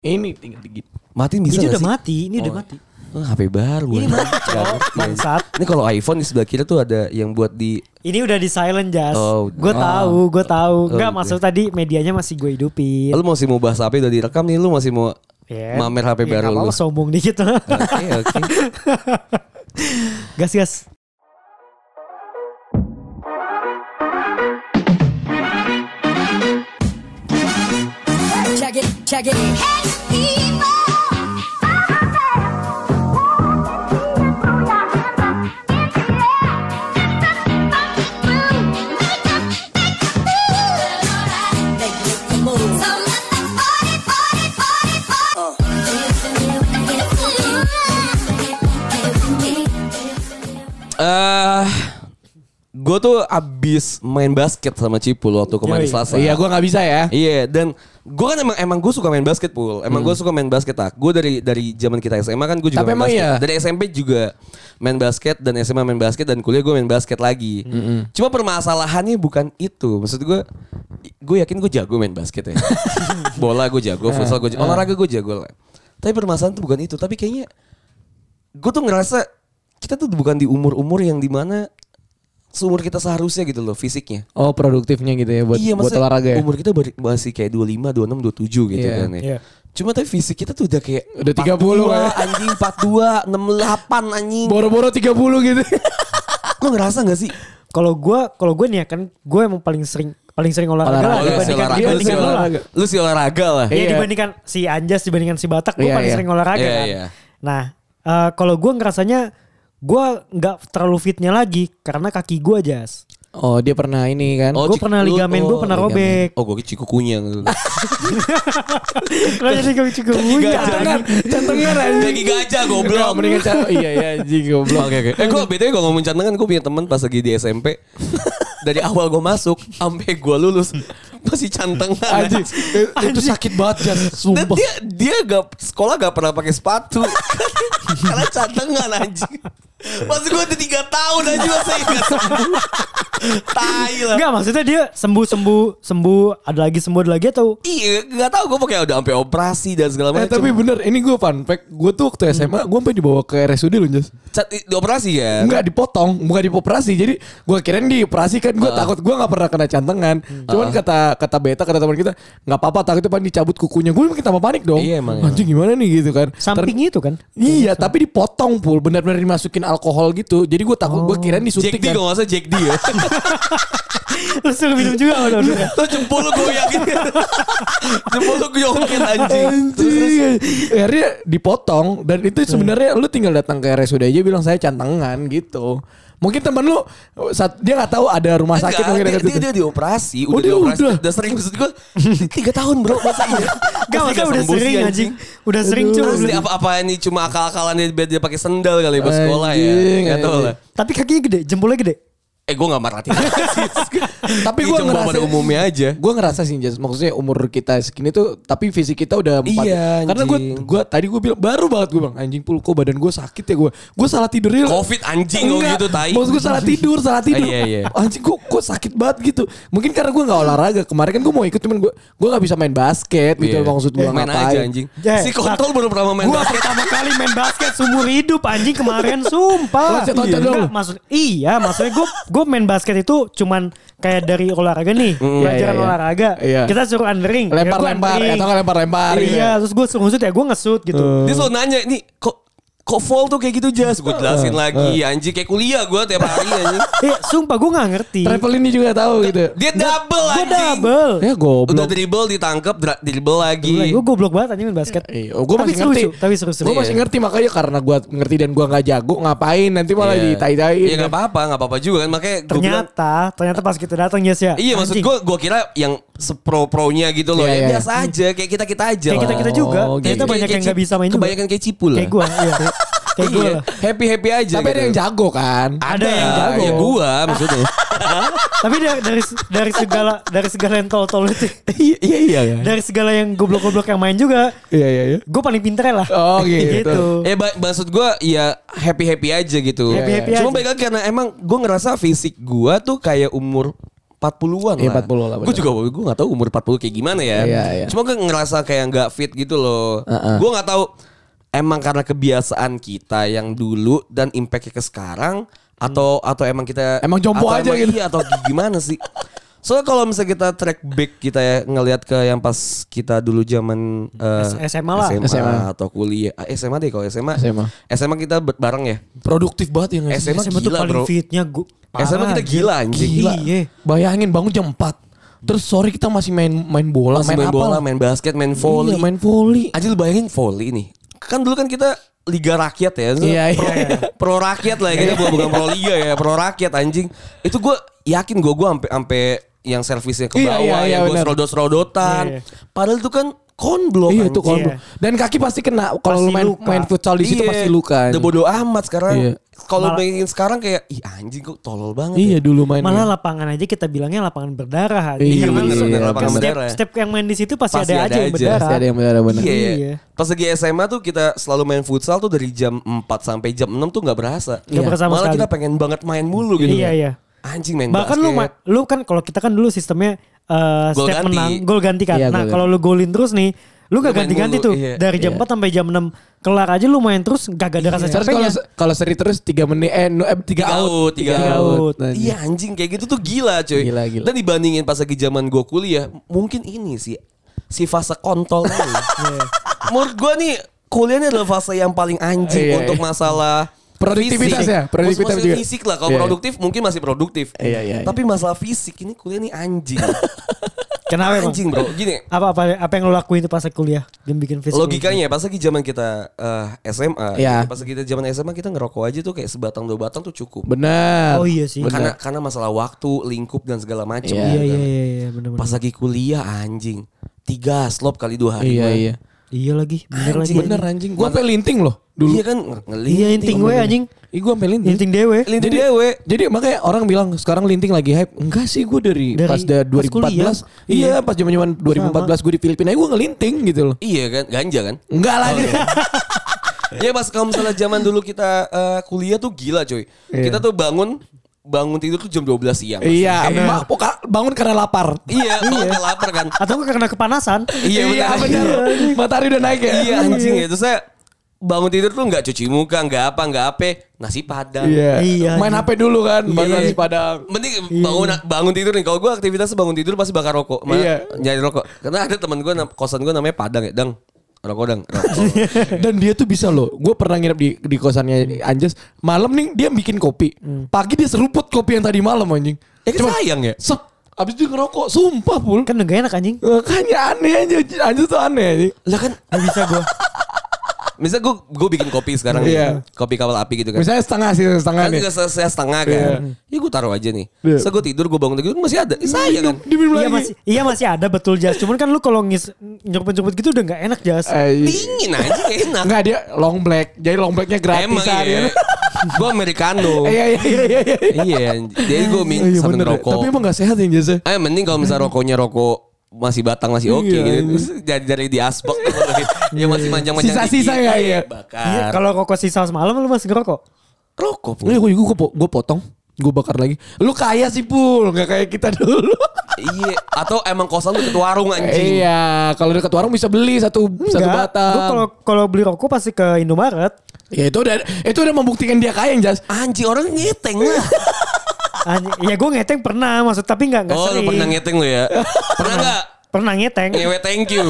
Ini tinggal dikit. Matiin bisa Ini gak udah sih? mati, ini udah mati. HP baru. Ini mati bangsat. Ini kalau iPhone di sebelah kiri tuh ada yang buat di. Ini udah di silent Jas. Oh, Gue tahu. Enggak oke. maksud tadi medianya masih gue hidupin. Lu masih mau bahas HP udah direkam nih, lu masih mau mamer HP baru nggak lu. apa-apa, sombong dikit. Oke. Gas. Check it. Hey people. Gue tuh abis main basket sama Cipul waktu kemarin Selasa. Iya, gue nggak bisa ya. Iya, dan gue kan emang gue suka main basket, Pul. Emang gue suka main basket. Gue dari zaman kita SMA kan gue juga Tapi main basket. iya. Dari SMP juga main basket dan SMA main basket dan kuliah gue main basket lagi. Cuma permasalahannya bukan itu. Maksud gue yakin gue jago main basket ya. Bola gue jago, futsal gue jago, olahraga gue jago lah. Tapi permasalahan itu bukan itu. Tapi kayaknya gue tuh ngerasa kita tuh bukan di umur-umur yang dimana seumur kita seharusnya gitu loh fisiknya. Oh, produktifnya gitu ya buat olahraga ya. Umur kita masih kayak 25, 26, 27 gitu kan ya. Iya. Cuma tapi fisik kita tuh udah kayak Udah 30 ya. anjing 42, 68 anjing. Boro-boro 30 gitu. Lo ngerasa gak sih? Kalau gue nih ya kan gue emang paling sering olahraga lah dibandingkan lo lah. Lu si olahraga lah. Iya, dibandingkan si Anjas, dibandingkan si Batak, gue paling sering olahraga kan. Iya. Nah, kalau gue ngerasanya gue nggak terlalu fitnya lagi karena kaki gue Jas. Oh, dia pernah ini kan. Gue pernah ligamen gue pernah robek. Oh, gue cikukunya. Lo jadi kaki gue Cantengan aja. Kaki gajah goblok. Mendingan iya anjing goblok. Oke. Gue BTW gue ngomongin cantengan, gue punya teman pas lagi di SMP. Dari awal gue masuk sampai gue lulus masih cantengan. Anjing. Itu sakit banget kan, Dan sumpah. dia sekolah gak pernah pakai sepatu. Karena cantengan anjing. Pas gue udah 3 tahun aja masih gak sembuh. Tai lah. Enggak, maksudnya dia sembuh ada lagi atau Iya, gak tahu gue pakai udah sampai operasi dan segala macam. Tapi bener, ini gue fun fact. Gue tuh waktu SMA, gue sampai dibawa ke RSUD loh, Jas. Di operasi ya? Enggak dipotong, bukan dioperasi. Jadi gue kirain dioperasi kan, gue takut gue gak pernah kena cantengan. Cuman kata Beta, kata teman kita, gak apa-apa, takutnya pan dicabut kukunya. Gue makin tambah panik dong. Iya, emang. Anjing gimana nih gitu kan. samping itu kan? Iya, tapi dipotong Pul, benar-benar dimasukin alkohol gitu. Jadi gue takut, gue kirain disuntik Jack D kan. kalau gak salah Jack D ya. Lu suruh minum juga udah. Tuh jempol lu goyangin. Jempol lu goyangin anjing. Anjing. Akhirnya dipotong. Dan itu sebenarnya lu tinggal datang ke RSUD aja bilang saya cantengan gitu. Mungkin teman lu dia gak tahu ada rumah sakit mungkin dekat situ. Dia dioperasi, Oh, dia udah. udah sering maksud gue 3 tahun bro masa iya. Gak maksudnya udah sering anjing. Udah sering cuma. Asli apa ini cuma akal-akalan dia pakai sendal kali buat sekolah ya. Gak tau lah. Tapi kakinya gede, jempolnya gede. Gue gak merhatiin. Tapi gue cuma ngerasa pada umumnya aja. Gue ngerasa sih Jas, maksudnya umur kita segini tuh, tapi fisik kita udah 4. Iya, Karena gue bilang baru banget gue bilang anjing Pul, kok badan gue sakit ya gue salah tidur ya. Covid anjing kok gitu tai. Maksud gue salah tidur. Iya. Anjing kok sakit banget gitu. Mungkin karena gue gak olahraga. Kemarin kan gue mau ikut cuman gue gak bisa main basket gitu. Maksud gue main ngapain. aja anjing. Ya, Si kontol baru pernah main Gue basket. pertama kali main basket seumur hidup anjing kemarin sumpah. Loncat-loncat Enggak, dong. maksudnya gue main basket itu cuman kayak dari olahraga nih, pelajaran iya. olahraga. Iya. Kita suruh undering, Lempar-lempar atau nggak lempar-lempar. Iya, terus gue suruh ngesut ya gue ngesut gitu. Dia selalu nanya nih kok fall tuh kayak gitu Jas. Gue jelasin lagi anjing kayak kuliah gue tiap hari anjing. Sumpah gue gak ngerti. Travel ini juga tahu gitu. Dia double Gue anjing. double. Ya goblok. Udah dribble ditangkep, dribble lagi. Gue goblok banget anjing main basket. Gue Tapi masih ngerti. Tapi seru-seru. Gue masih ngerti makanya karena gue ngerti dan gue nggak jago ngapain nanti malah ditai-taiin. Ya nggak apa-apa juga kan makanya gue bilang. Ternyata pas kita datang Yes ya. Iya maksud anjing. gue kira yang sepro-pronya gitu loh. Iya, Ya iya. biasa aja kayak kita aja. Kayak kita juga. Oh, Ternyata gitu. banyak yang gak bisa main juga. Kebanyakan kayak Cipul lah. Kayak gue. Iya. Kayak gue Iya, lah. happy aja. Tapi ada yang jago kan. Ada yang jago. Ya gue maksudnya. Tapi dari segala yang tol-tol itu. Iya kan. Dari segala yang goblok-goblok yang main juga. Iya. Gue paling pinter lah. Oh gitu. Maksud gue ya happy aja gitu. Happy Cuma aja. baik lagi karena emang gue ngerasa fisik gue tuh kayak umur 40-an Iya, lah. 40 lah, Gue juga gue gak tahu umur 40 kayak gimana ya. Iya. Cuma gue ngerasa kayak gak fit gitu loh. Gue gak tahu emang karena kebiasaan kita yang dulu dan impactnya ke sekarang atau emang kita Emang jompo atau aja emang gitu. Iya atau gimana sih? Soalnya kalau misalnya kita track back kita ya ngelihat ke yang pas kita dulu zaman SMA lah. SMA atau kuliah. SMA deh kalau SMA kita bareng ya. Produktif banget ya nggak sih? SMA SMA tuh gila, paling bro. fitnya SMA kita gila anjing. Gila. Iya. Bayangin bangun jam 4. Terus sore kita masih main bola, Masih main apa bola, lah. main basket, main volley. Iya, main volley. Aja lu bayangin volley nih. Kan dulu kan kita liga rakyat ya. Iya, pro, iya. pro rakyat lah ya. Kita bukan pro liga ya, pro rakyat anjing. Itu gue yakin gue sampai yang servisnya ke Iya, bawah, iya, yang gue benar. serodot-serodotan. Iya. Padahal itu kan konblok. Iya itu anjing. kalau dan kaki pasti kena kalau lu Pasti luka. main futsal di situ Iya, pasti luka. Udah bodo amat sekarang. Iya. Kalau Malah- bayangin sekarang kayak ih anjing kok tolol banget. Iya ya. dulu main. Malah lapangan aja kita bilangnya lapangan berdarah. Iya, Karena bener, setiap- bener, lapangan setiap, berdarah. setiap yang main di situ pasti, Pasti ada aja yang berdarah. Pasti ada yang benar-benar. Iya, iya. Iya. Pas lagi SMA tuh kita selalu main futsal tuh dari jam 4 sampai jam 6 tuh gak berasa. Nggak berasa sama Malah sekali. kita pengen banget main mulu gitu. Iya, iya. Anjing main Bahkan basket. lu kan kalau kita kan dulu sistemnya Gol setiap ganti. menang gol ganti kan. Iya, Nah, gol kalau lu golin terus nih, lu Lu gak main ganti-ganti mulu, tuh. iya. Dari jam Iya. 4 sampai jam 6 kelar aja lu main terus gak ada rasa Terus capeknya. kalau seri terus 3 menit 3 out. Tiga Tiga out. Nah, Iya anjing kayak gitu tuh gila cuy. Gila. Dan dibandingin pas lagi zaman gue kuliah, mungkin ini sih si fase kontol ini. Menurut gue nih kuliah ini adalah fase yang paling anjing Iya, untuk iya. masalah Produktivitas fisik. ya, produktivitas Maksudnya juga. fisik lah. Kalau Iya, iya. produktif mungkin masih produktif. Iya. Tapi masalah fisik ini kuliah ini anjing. Kenapa emang? Anjing bro. Gini. Apa yang lo lakuin tuh pas kuliah? Yang bikin fisik. Logikanya pas lagi zaman kita SMA, Iya. pas lagi kita zaman SMA kita ngerokok aja tuh kayak sebatang 2 batang tuh cukup. Benar. Oh iya sih. Karena masalah waktu, lingkup dan segala macam. Iya. Iya benar-benar. Pas lagi kuliah anjing 3 slop kali 2 hari. Iya. Iya lagi, bener lagi. Bener anjing. Gua sampai linting loh dulu. Iya kan ngelinting. Iya inting gue anjing. Ih gua sampai linting. Inting dewe. Linting dewe. Jadi makanya orang bilang sekarang linting lagi hype. Enggak sih gue dari Dari pas pas kuliah. 2014. Iya pas zaman 2014 gue di Filipina gue ngelinting gitu loh. Iya kan, ganja kan? Enggak lagi. Iya pas kalau misalnya zaman dulu kita kuliah tuh gila coy. Iya. Kita tuh bangun tidur tuh jam 12 siang. Iya, bangun karena lapar. Iya, bangun karena lapar kan. Atau karena kepanasan. Iya benar. Matahari udah naik ya. Iya anjing ya. Terus saya bangun tidur tuh nggak cuci muka, nggak apa, nasi padang. Iya, Main anjing. HP dulu kan, baru Iya. nasi padang. Mending bangun tidur nih. Kalau gue aktivitas bangun tidur pasti bakar rokok. Iya. Nyari rokok. Karena ada teman gue kosan gue namanya Padang ya, Dang. Rokok Dang. Rokok. Dan dia tuh bisa loh. Gue pernah nginep di kosannya Anjas. Malam nih dia bikin kopi. Pagi dia seruput kopi yang tadi malam anjing. Kan sayang ya. Sep. Abis itu ngerokok. Sumpah pul. Kan gak enak anjing. Makanya aneh aja. Anjas tuh aneh anjing. Lah kan Gak bisa gue. misalnya gue bikin kopi sekarang Iya. nih. Kopi kawal api gitu kan. Misalnya setengah Kan nih. juga selesai setengah kan. Ya gue taruh aja nih. Iya. Terus gue tidur, gue bangun tidur masih ada. Sayang kan. Diminum Iya lagi. masih ada betul Jas. Cuman kan lu kalau nyeruput-nyeruput gitu udah gak enak Jas. Dingin aja gak enak. Enggak dia long black. Jadi long blacknya gratis. Emang iya. Gue Americano. Iya. Iya. Jadi gue Iya sambil bener. ngerokok. Tapi emang gak sehat ya Jasa. Mending kalau misalnya rokoknya rokok masih batang masih oke Iya, gitu. Terus dari di asbak ya masih manjang-manjang Sisa-sisa dikit. ya, iya. Iya, Bakar. kalau rokok sisa semalam lu masih ngerokok? Rokok pun. Iya gue potong. Gue bakar lagi. Lu kaya sih Pul. Gak kayak kita dulu. Iya. Atau emang kosan tuh ke warung anjing. Iya. Kalau dekat warung bisa beli satu batang. Gue kalau beli rokok pasti ke Indomaret. Ya itu udah membuktikan dia kaya Jas. Anjing orang ngeteng lah. Ya gue ngeteng pernah maksud tapi nggak Oh lu sering. pernah ngeteng lu ya? Pernah gak? Pernah ngeteng. Ngewe thank you.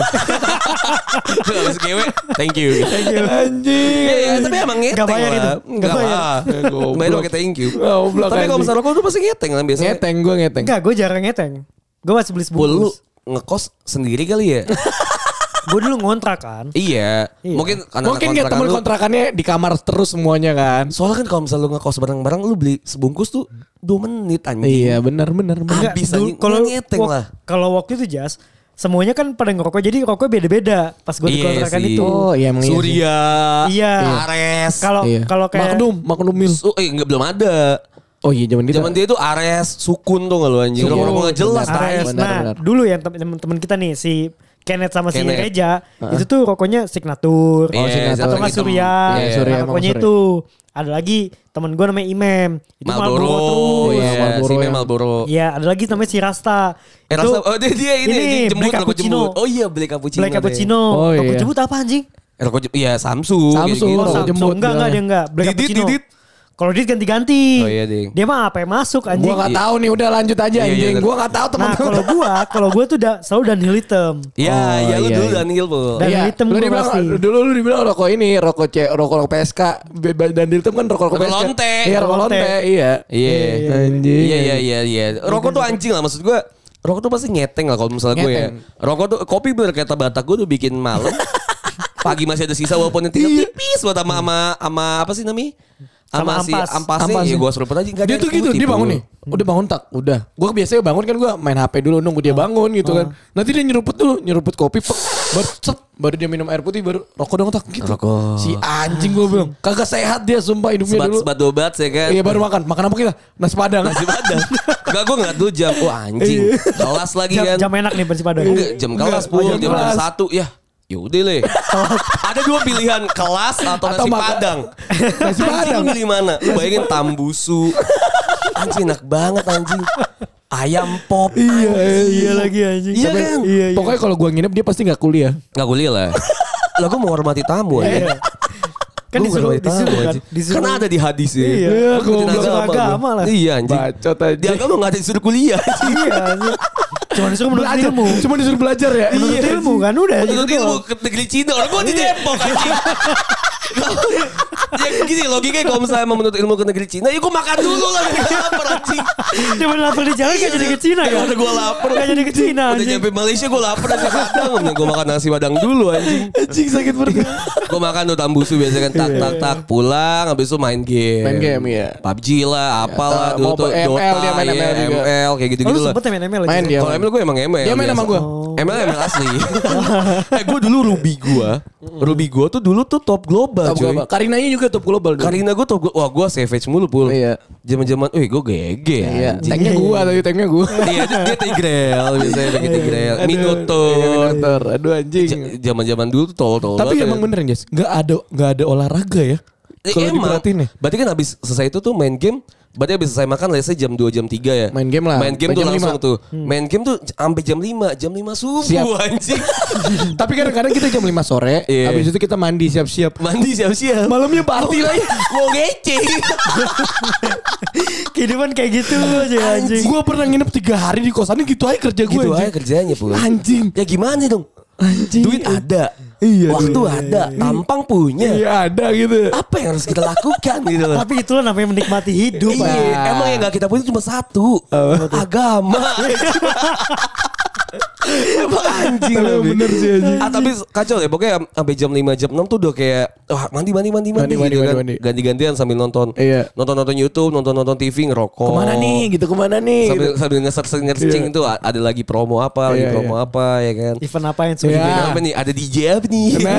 Lu habis ngewe thank you. Anjing. Iya tapi emang ngeteng Nggak bayar lah. itu. Nggak bayar. Goblok. Bayar pakai thank you. Goblok, Tapi kalau anjing. misalnya rokok lu pasti ngeteng lah biasanya. Ngeteng gue ngeteng. Enggak, gue jarang ngeteng. Gue masih beli Pul lu sebungkus. ngekos sendiri kali ya? Gue dulu ngontrak kan. Iya. Iya. Mungkin karena Mungkin kayak kontrakan temen lu- kontrakannya di kamar terus semuanya kan. Soalnya kan kalau misalnya lu ngekos bareng-bareng lu beli sebungkus tuh 2 menit anjing. Iya benar. Enggak, Habis dulu anjing. Kalau ngeteng lah. Kalau waktu itu Jas, semuanya kan pada ngerokok jadi rokoknya beda-beda pas gue di Iya kontrakan sih. itu. Oh iya emang iya sih. Surya, Iya. Ares. Kalau Iya. kalau kayak Magnum Mil. Enggak belum ada. Oh iya zaman kita. Zaman dia tuh Ares, Sukun tuh nggak lu anjing. Sukun. Rokok nggak jelas Benar. tai. Ares. Nah, benar. dulu yang temen-temen kita nih si Kenneth sama si Kenneth. Reja, itu tuh rokoknya Signature. Oh, Signature. Atau nggak Hitam. Surya. Iya, Surya, Nah, emang rokoknya Surya. itu. Ada lagi temen gue namanya Imam. Itu Marlboro. terus. Iya, Marlboro si yang- Marlboro. Iya, ada lagi namanya si Rasta. Itu Rasa, oh dia ini jembut, Black rokok Cappuccino. jembut. Oh iya, Black Cappuccino. Black Cappuccino. Oh, Rokok iya. jembut apa anjing? Rokok jembut, iya Samsung. Samsung, gitu-gitu. Oh, rokok Samsung. jembut Enggak bilangnya. dia enggak. Black Didit, Cappuccino. Didit. Kalau Didit ganti-ganti. Oh iya, Ding. Dia mah apa yang masuk anjing. Gua gak tahu nih, udah lanjut aja Iya, iya, anjing. bener. Gua gak tahu Nah, teman-teman. kalau gua tuh selalu Dunhill hitam. Iya, Oh, iya lu iya, dulu iya. Daniel po. Dan hitam lu gua dibilang, pasti. dulu lu dibilang rokok ini, rokok PSK dan hitam kan rokok Rokok PSK. lonte. Iya, rokok Lonte. lonte, iya. Iya. Anjing. Iya. Rokok tuh anjing lah maksud gue. Rokok tuh pasti ngeteng lah kalau misalnya gue ya. Ngeteng. Rokok tuh kopi bener kata Batak gue tuh bikin malam. Pagi masih ada sisa walaupun yang tinggal tipis buat sama apa sih namanya? Sama Si ampas. ampasnya ya gue seruput aja. Nggak Dia ada tuh gitu, putih, dia bangun Pul. nih. Udah bangun tak? Udah. Gue biasanya bangun kan gue main HP dulu nunggu dia bangun gitu kan. Nanti dia nyeruput kopi, baru dia minum air putih, baru rokok dong tak gitu. Rokok. Si anjing gue bilang, kagak sehat dia sumpah hidupnya dulu. Sebat dobat ya kan. Iya baru makan apa kita? Nasi padang. Nasi padang. Enggak gue ngeliat dulu jam. Wah anjing. Kelas lagi kan. Jam enak nih bersih padang. Enggak, jam kelas Enggak, pul, jam jam kelas. 1 ya. Yaudah le. Ada dua pilihan, kelas atau nasi makan. padang. Nasi Anjing padang. lu milih mana? Lu bayangin tambusu. Anjing enak banget anjing. Ayam pop. Iya lagi anjing. Iya kan? Iya. Pokoknya kalau gue nginep dia pasti gak kuliah. Gak kuliah lah. Lah gue mau hormati tamu aja. Kan Gua disuruh hormati tamu, kan. anjing. Disuruh. Kan ada di hadis ya. Iya. Gua ikutin Disuruh agama lah. Iya anjing. Bacot aja. Di agama gak ada disuruh kuliah. Iya anjing. Cuma disuruh menurut Belajar, ilmu. cuma disuruh belajar ya. Menurut ilmu kan udah Menurut gitu ilmu doang. ke negeri Cina. Orang gue di Depok anjing. Ya gini logikanya kalau misalnya emang menurut ilmu ke negeri Cina, ya gue makan dulu lah biar gak lapar anjing. Dia lapar di jalan gak jadi ke Cina Ya kan? udah gue lapar. Gak jadi ke Cina Udah anjing. nyampe Malaysia gue lapar nasi padang. Gue makan nasi padang dulu anjing. Anjing sakit perut. Gue makan tuh tambusu biasa kan tak pulang habis itu main game. Main game, iya. PUBG lah apalah Atau dulu tuh ML, Dota dia main ya, ML juga. ML kayak Oh, gitu-gitu lu lah. sempet main ML Main dia. Kalau ML gue emang ML. Dia main sama biasa. gue. ML asli. Gue dulu Ruby gue tuh dulu tuh top global Top cuy. global. Karinanya juga top global dulu. Karina gue top wah gue savage mulu pul. Iya. Zaman-zaman, gue GG Iya. anjing. Tanknya gue tanknya gue. Iya dia Tigrel biasanya pakai Tigrel. Iya, Minotaur. Minotaur. Aduh anjing. Zaman-zaman dulu tuh tol-tol. Tapi banget emang ya. bener Jas, nggak ada olahraga ya. Kalau Emang. diperhatiin nih. Berarti kan habis selesai itu tuh main game. Berarti habis selesai makan let's say jam 2 jam 3 ya. Main game lah. Main game Main tuh jam langsung 5. tuh. Main game tuh sampai jam 5. Jam 5 subuh Siap. anjing. Tapi kadang-kadang kita jam 5 sore, Iya. habis itu kita mandi siap-siap. Mandi siap-siap. Malamnya party lagi. Mau ngece. Kehidupan kayak gitu aja anjing. Gue pernah nginep 3 hari di kosan gitu aja kerja gue. Gitu aja kerjanya pul. Anjing. Ya gimana dong? Anjing. Duit ada. Iya, Waktu iya, ada. Tampang punya. Iya ada gitu. Apa yang harus kita lakukan gitu loh. Tapi itulah namanya menikmati hidup. Iya, Pak. emang yang gak kita punya cuma satu. Agama. Emang anjing lah. Tapi bener sih, anjing. Tapi kacau ya. Pokoknya sampai jam 5 jam 6 tuh udah kayak wah, mandi gitu kan. mandi. Ganti-gantian sambil nonton. Iya. Nonton YouTube, nonton TV, ngerokok. Kemana nih gitu, kemana nih Sambil gitu. sambil nge-searching itu ada lagi promo apa, lagi Iya, promo apa ya kan. Event apa yang sudah Iya. Event apa nih? Ada DJ apa nih? Nah,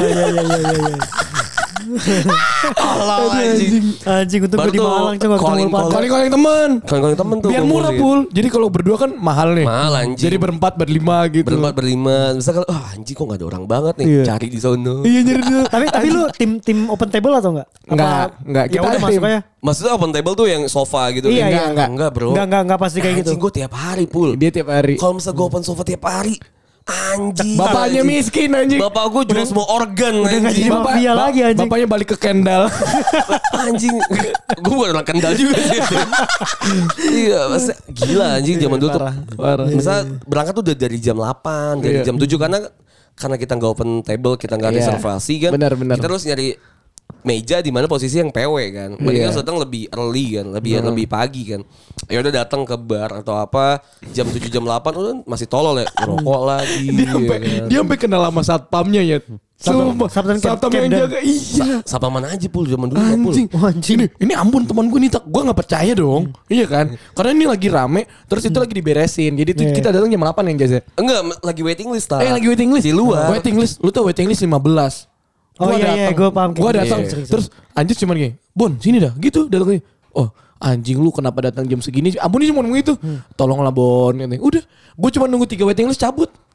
Allah anjing. Anjing untuk gue Baru di tuh Malang coba ketemu calling- Pak. calling temen. Kalau temen tuh Biar murah kumpulin. pul. Jadi kalau berdua kan mahal nih. Mahal, anjing. Jadi berempat berlima gitu. Berempat berlima. Misalkan anjing kok gak ada orang banget nih. Iya. Cari di sono. Iya jadi dulu. Tapi lu tim open table atau enggak? Enggak. Ya Kita udah tim. masuk aja. Maksudnya open table tuh yang sofa gitu. Iya, Enggak, iya. enggak bro. Enggak pasti kayak gitu. Anjing gue tiap hari pul. Dia tiap hari. Kalau misalnya gue open sofa tiap hari. Anjing. Bapaknya anjing. miskin anjing. Bapak gue jual semua organ udah nggak anjing. jadi mafia lagi, anjing. Bapaknya balik ke Kendal. Anjing. Gue bukan orang kendal juga sih. Iya maksudnya gila anjing zaman dulu tuh. Parah. Misalnya berangkat tuh udah dari jam 8. Dari Iya. jam 7 karena kita nggak open table, kita nggak Iya. reservasi kan. Benar. Kita terus nyari meja di mana posisi yang PW kan. Mendingan Iya. datang lebih early kan, lebih pagi kan. Ya udah datang ke bar atau apa jam 7 jam 8 udah masih tolol ya. Rokok lagi. Dia sampai kenal sama satpamnya ya. Sumpah. Satpam Satpam yang Camden. jaga. Iya. Sapa mana aja pul zaman dulu Pul. Anjing. Oh, anjing. Ini ampun teman gue nih tak. Gue gak percaya dong. Iya kan. Karena ini lagi rame. Terus itu lagi diberesin. Jadi itu Iya. kita datang jam 8 yang jasa. Enggak, lagi waiting list lah. Lagi waiting list. Di luar. Waiting list. Lu tau waiting list 15. Oh Gua iya, datang. gue paham. Gue Kayak datang. gitu. Terus Anjir cuman gini. Bon sini dah. Gitu datang. Oh anjing lu kenapa datang jam segini. Ampun ini cuma ngomong itu. Tolonglah Bon. Udah. Gue cuma nunggu 3 waiting list cabut.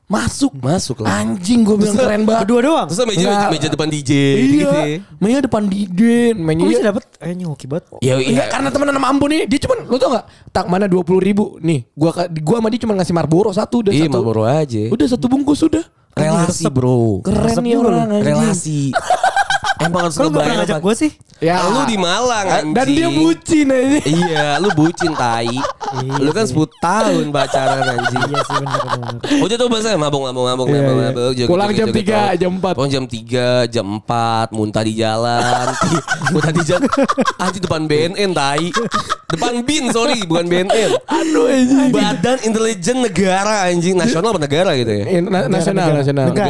Masuk lah. Anjing gue bilang keren banget. Berdua doang. Terus meja Enggak. meja depan DJ Iya gitu ya. mainnya depan Dide. Mainnya Kok bisa dapet? Ini hoki banget. Ya Enggak, karena temenan sama Ambo nih, dia cuman, lu tau gak? Tak mana 20.000 nih, gua sama dia cuma ngasih Marlboro satu, udah Iya, satu. Marlboro aja. Udah satu bungkus udah. Relasi bro. Keren Resep nih juga orang anjing. Relasi. Emang harus Kalau gak pernah ngajak gue sih. Ya. Lu di Malang anjing. Dan dia bucin aja. Iya, lu bucin tai. Lu kan 10 tahun pacaran anjing. Iya sih bener. Udah tuh bahasa mabuk. Iya. Pulang jam 3, jam 4. Pulang jam 3, jam 4, muntah di jalan. Muntah di jalan. Anjing depan BNN tai. Depan BIN sorry, bukan BNN. Aduh anjing. Badan Intelijen Negara anjing, nasional apa negara gitu ya? Nasional.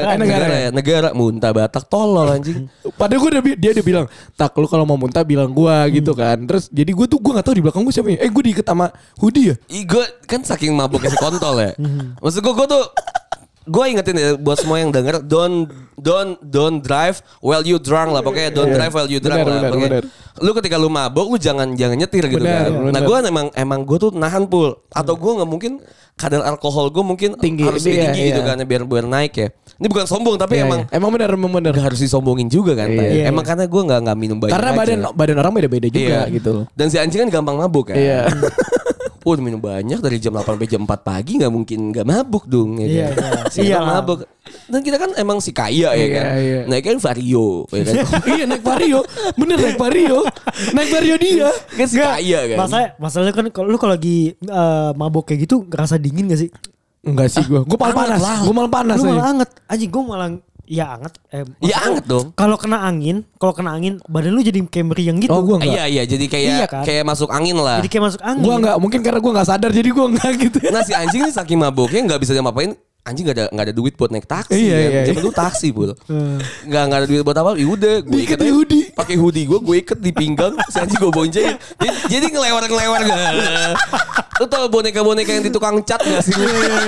Negara muntah Batak tolol anjing. Padahal dia udah bilang, tak lu kalau mau muntah bilang gua gitu kan. Terus jadi gua gak tahu di belakang gua siapa ya. Gua diikat sama hoodie ya. Gue kan saking mabuknya si kontol ya. Maksud gue tuh gue ingetin ya buat semua yang denger, don't drive while you drunk lah, pokoknya don't drive while you drunk lah. Pokoknya lu ketika lu mabuk lu jangan nyetir gitu kan. Nah gue emang gue tuh nahan pul, atau gue nggak mungkin kadar alkohol gue mungkin tinggi, harus tinggi gitu kan biar naik ya. Ini bukan sombong tapi emang benar. gak harus disombongin juga kan. Emang karena gue nggak minum banyak. Karena aja. badan orang beda-beda juga gitu loh. Dan si anjing kan gampang mabuk kan. Iya. Udah minum banyak dari jam 8 sampai jam 4 pagi gak mungkin gak mabuk dong ya kan? Si kita mabuk. Dan kita kan emang si kaya ya kan. Iya. Naik kan Vario ya kan. Iya naik Vario. Bener naik Vario. Naik Vario dia. Kan si kaya kan. Masalahnya kan kalau lu kalau lagi mabok kayak gitu ngerasa dingin gak sih? Enggak sih gue malah panas. Gue malah panas. Lu aja. malah anget. Anjing gue malah ya anget. Ya anget dong. Kalau kena angin badan lu jadi kayak meriang gitu. Oh gue enggak. Iya jadi Iya kan? kayak masuk angin lah. Jadi kayak masuk angin. Gue enggak, mungkin karena gue enggak sadar jadi gue enggak gitu. Nah si anjing ini saking mabuknya gak bisa diapa-apain. Anjing gak ada duit buat naik taksi. Iya. Zaman dulu taksi pul. Gak ada duit buat apa. Yaudah gue Diikat di hoodie. Pakai hoodie gue ikat di pinggang. Si anjing gue boncengin. Jadi ngelewar gak. Lu tau boneka-boneka yang di tukang cat gak sih?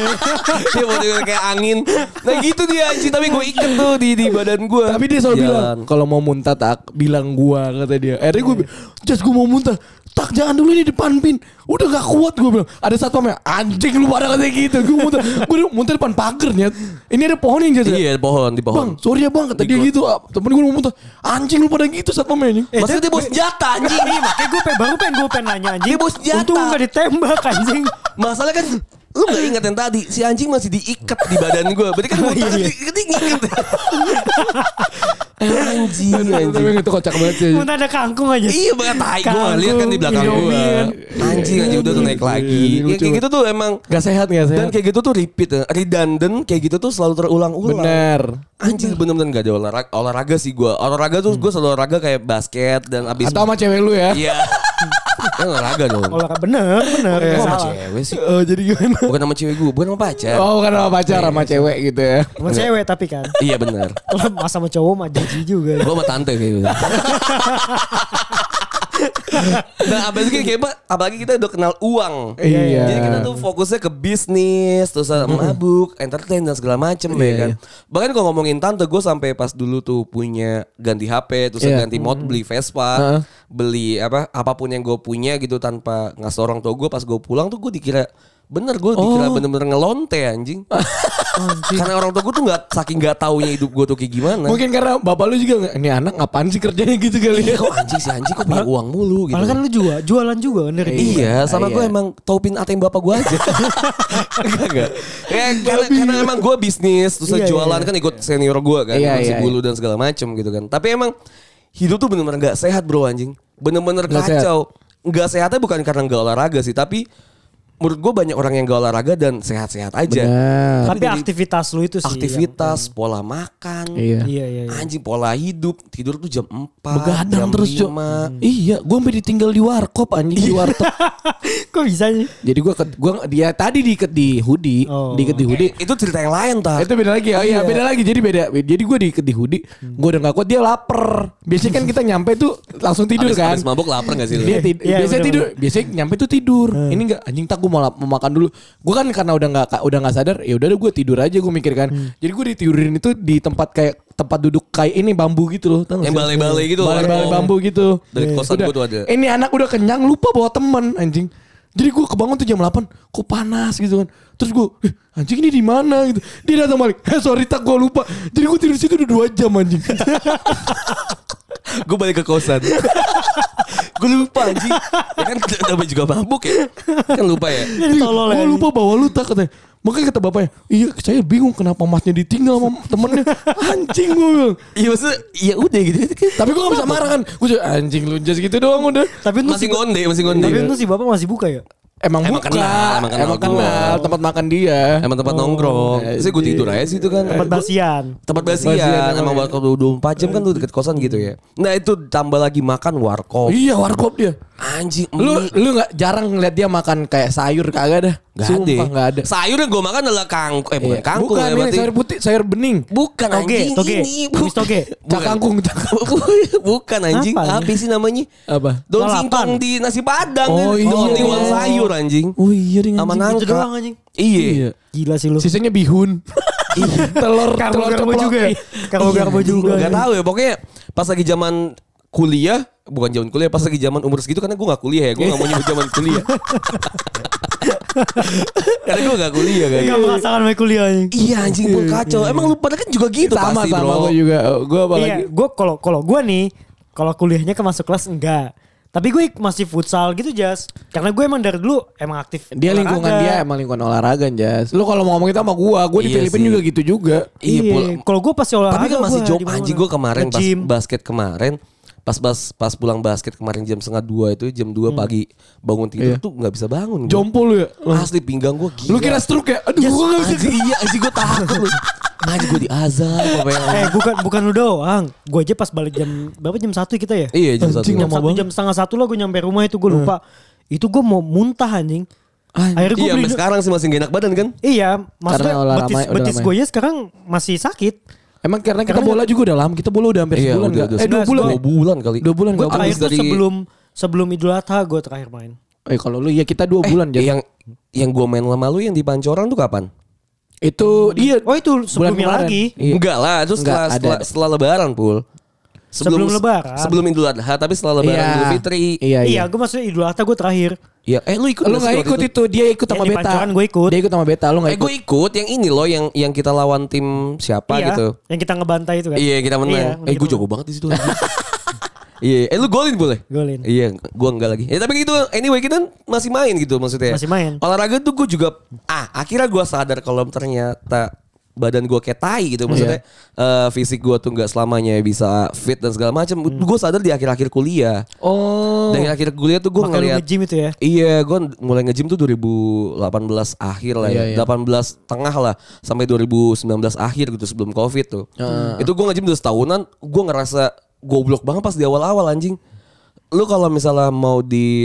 Dia boneka kayak angin. Nah gitu dia anjing. Tapi gue ikat tuh di badan gue. Tapi dia selalu bilang kalau mau muntah tak bilang gue, kata dia. Akhirnya gue just gue mau muntah. Tak jangan dulu ini depan pin. Udah gak kuat gue bilang. Ada satpamnya. Anjing lu pada katanya gitu. Gue muntah depan pagernya. Ini ada pohon yang jatuh. Iya pohon di pohon. Bang sorry ya bang kata dia gitu. Temen gue mau muntah. Anjing lu pada gitu satpamnya anjing. Maksudnya dia bawa senjata anjing. Iya makanya gue gue pengen nanya anjing. Dia bawa senjata. Untung gak ditembak anjing. Masalah kan lu gak ingat yang tadi. Si anjing masih diikat di badan gue. Berarti kan muntah diikat. Anjing. Tapi itu kocak banget sih. Muntah ada kangkung aja. Iya banget tai gue lihat kan di belakang gue. Anjing udah tuh naik lagi. Ya, kayak gitu tuh emang Gak sehat. dan kayak gitu tuh repeat, redundant kayak gitu tuh selalu terulang-ulang. Bener. Anjing bener-bener gak ada olahraga sih gue. Olahraga tuh gue selalu olahraga kayak basket dan abis. Atau sama cewek lu ya. Iya. Kan olahraga dong. Olahraga bener. Kok sama Salah. cewek sih? Oh jadi gimana? Bukan sama cewek gue, bukan sama pacar. Oh bukan sama pacar sama cewek gitu ya. Sama cewek tapi kan. Iya bener. Kalau mas sama cowok mah jijik juga. Gue sama tante kayak gitu. Nah apalagi kita udah kenal uang. Iya. Jadi kita tuh fokusnya ke bisnis, terus mabuk, entertain dan segala macem ya kan. Bahkan kalau ngomongin tante, gue sampai pas dulu tuh punya ganti HP, terus ganti mod, beli Vespa, beli apapun yang gue punya gitu tanpa ngasih orang tua gue. Pas gue pulang tuh gue dikira dikira bener-bener ngelonte anjing. Karena orang tua gue tuh saking gak taunya hidup gue tuh kayak gimana. Mungkin karena bapak lu juga ini anak ngapain sih kerjanya gitu kali ya. Kok anjing kok punya uang mulu gitu. Malah kan lu jualan juga kan dari dulu. Iya, sama gue emang taupin ATM bapak gue aja. Enggak. Ya, karena emang gue bisnis, terus jualan kan ikut senior gue kan, si bulu dan segala macem gitu kan. Tapi emang hidup tuh bener-bener gak sehat bro anjing. Bener-bener kacau. Gak sehatnya bukan karena gak olahraga sih, tapi menurut gue banyak orang yang gak olahraga dan sehat-sehat aja. Tapi aktivitas lu itu sih. Aktivitas, pola makan. Iya. Anjing pola hidup. Tidur tuh jam 4. Begadang jam terus 5. Iya, gue sampai ditinggal di warkop anjing di warteg. Kok bisa sih? Jadi dia tadi diikat di hoodie, diikat di hoodie. Itu cerita yang lain tak? Itu beda lagi. Oh iya, beda lagi. Jadi beda. Jadi gue diikat di hoodie, gue udah gak kuat, dia lapar. Biasanya kan kita nyampe tuh langsung tidur kan. Abis mabuk lapar gak sih lu? Dia biasanya tidur. Biasanya nyampe tuh tidur. Ini enggak anjing tak gue mau makan dulu. Gue kan karena udah nggak sadar, ya udah gue tidur aja gue mikir kan. Jadi gue ditidurin itu di tempat kayak tempat duduk kayak ini bambu gitu loh. Yang balai-balai gitu. Balai-balai bambu gitu. Dari kosan gue tuh ada. Ini anak udah kenyang lupa bawa temen anjing. Jadi gue kebangun tuh jam 8, kok panas gitu kan. Terus gue, anjing ini di mana gitu. Dia datang balik, sorry tak gue lupa. Jadi gue tidur situ udah 2 jam anjing. Gue balik ke kosan. Gue lupa anjing. Ya kan namanya juga mabuk ya. Kan lupa ya. Tolol Gue ya. lupa bawa lu tak katanya. Makanya kata bapaknya, iya saya bingung kenapa masnya ditinggal sama temennya. Anjing gue bilang. Iya maksudnya ya udah gitu. Tapi gue gak bisa marah kan. Gue cuma anjing lu just gitu doang udah. Tapi itu Masih ngonde, masih ngonde. Tapi itu si bapak masih buka ya? Emang Emang buka. kenal Emang gua. kenal tempat makan dia. Emang tempat nongkrong. Terus gue tidur aja situ kan. Tempat basian. Tempat Basian basian. emang Emang ya. waktu 24 jam kan tuh deket kosan gitu ya. Nah itu tambah lagi makan warkop. Iya warkop dia. Anjing. Lu gak jarang ngeliat dia makan kayak sayur kagak dah. Sumpah gak ada. Sayur yang gue makan adalah kangkung. Bukan Iya. kangkung Bukan ya ini berarti. sayur putih, sayur bening. Bukan Toge, anjing. toge. Ini. Tumis toge. Cak kangkung. Bukan anjing. Apa Apa sih namanya? Apa? Daun Lalapan. singkong di nasi padang. Oh, kan. iya. Tiwang sayur anjing. Oh iya deh Sama anjing. nangka. Itu doang anjing. Iya. Gila sih lu. Sisanya bihun. telur Karbo-karbo ceplok. juga. Karbo-karbo juga. Gak tahu ya pokoknya pas lagi zaman kuliah, bukan zaman kuliah, pas lagi zaman umur segitu karena gue gak kuliah ya, gue gak mau nyebut zaman kuliah. Karena gue gak kuliah kan. Gak merasakan main kuliah anjing. Iya anjing pun kacau. Emang lu pada kan juga gitu Sama pasti sama bro. gue juga. Gue apalagi. Iya, gue kalau gue nih, kalau kuliahnya ke masuk kelas enggak. Tapi gue masih futsal gitu Jas. Karena gue emang dari dulu emang aktif. Dia lingkungan olahraga. dia emang lingkungan olahraga Jas. Lu kalau mau ngomong itu sama gue di Iya Filipina sih. juga gitu juga. Iya, Iya, Pul. kalau gue pasti olahraga. Tapi kan masih gua job di mana-mana. anjing gue kemarin pas Nge-gym. basket kemarin. Pas pulang basket kemarin jam 1:30 itu jam 2 pagi bangun tidur Iya. tuh gak bisa bangun. gua. Jompo lu ya. Asli pinggang gue gila. Lu kira stroke ya? Aduh gue gak bisa. Anjing iya anjing gue takut lu. Anjing gue diazab apa yang. bukan lu doang. Gue aja pas balik jam berapa jam 1 kita ya? Iya jam Anjing, 1. Jam lama 1 banget. jam setengah 1 lah gue nyampe rumah itu gue lupa. Itu gue mau muntah anjing. Akhirnya gue Iya beli. sampai sekarang sih masih gak enak badan kan. Iya, maksudnya Karena udah lama- betis udah lama gue ya sekarang masih sakit. Emang karena kita Karena- bola juga udah lama. Kita bola udah hampir sebulan udah, nggak? udah 2 bulan. 2 bulan kali. 2 bulan Gue nggak? terakhir Abis tuh dari- sebelum Idul Adha gue terakhir main. Kalau lu ya kita 2 bulan jadi. yang gue main sama lu yang di Pancoran tuh kapan? Itu iya. Oh itu sebelumnya kemarin. lagi. Iya. Enggak lah, itu Enggak, ada. setelah lebaran Pul. Sebelum Lebaran. Sebelum Idul Adha tapi setelah lebaran Iya. Idul Fitri. Iya Iya, gue maksudnya Idul Adha gue terakhir. Iya, lu ikut Lu nggak sih gak waktu ikut itu. Dia ikut sama Yang di Beta. Pancoran gue ikut. Dia ikut sama Beta. Lu gak ikut. Gue ikut yang ini loh yang kita lawan tim siapa Iya, gitu. yang kita ngebantai itu kan. Iya, kita menang. Iya, Gue jago banget di situ. Iya, lu golin boleh? Golin. Iya, gua enggak lagi. Ya tapi gitu, anyway kita masih main gitu maksudnya. Masih main. Olahraga tuh gue juga akhirnya gue sadar kalau ternyata badan gue kayak tai gitu maksudnya fisik gue tuh nggak selamanya bisa fit dan segala macam. Gue sadar di akhir-akhir kuliah. Oh. Dari akhir kuliah tuh gue Makanya lu ngeliat nge-gym itu ya. Iya, gue mulai nge-gym tuh 2018 akhir lah ya. Iya, iya. 18 tengah lah sampai 2019 akhir gitu sebelum Covid tuh. Itu gue nge-gym udah setahunan, gue ngerasa goblok banget pas di awal-awal anjing. Lu kalau misalnya mau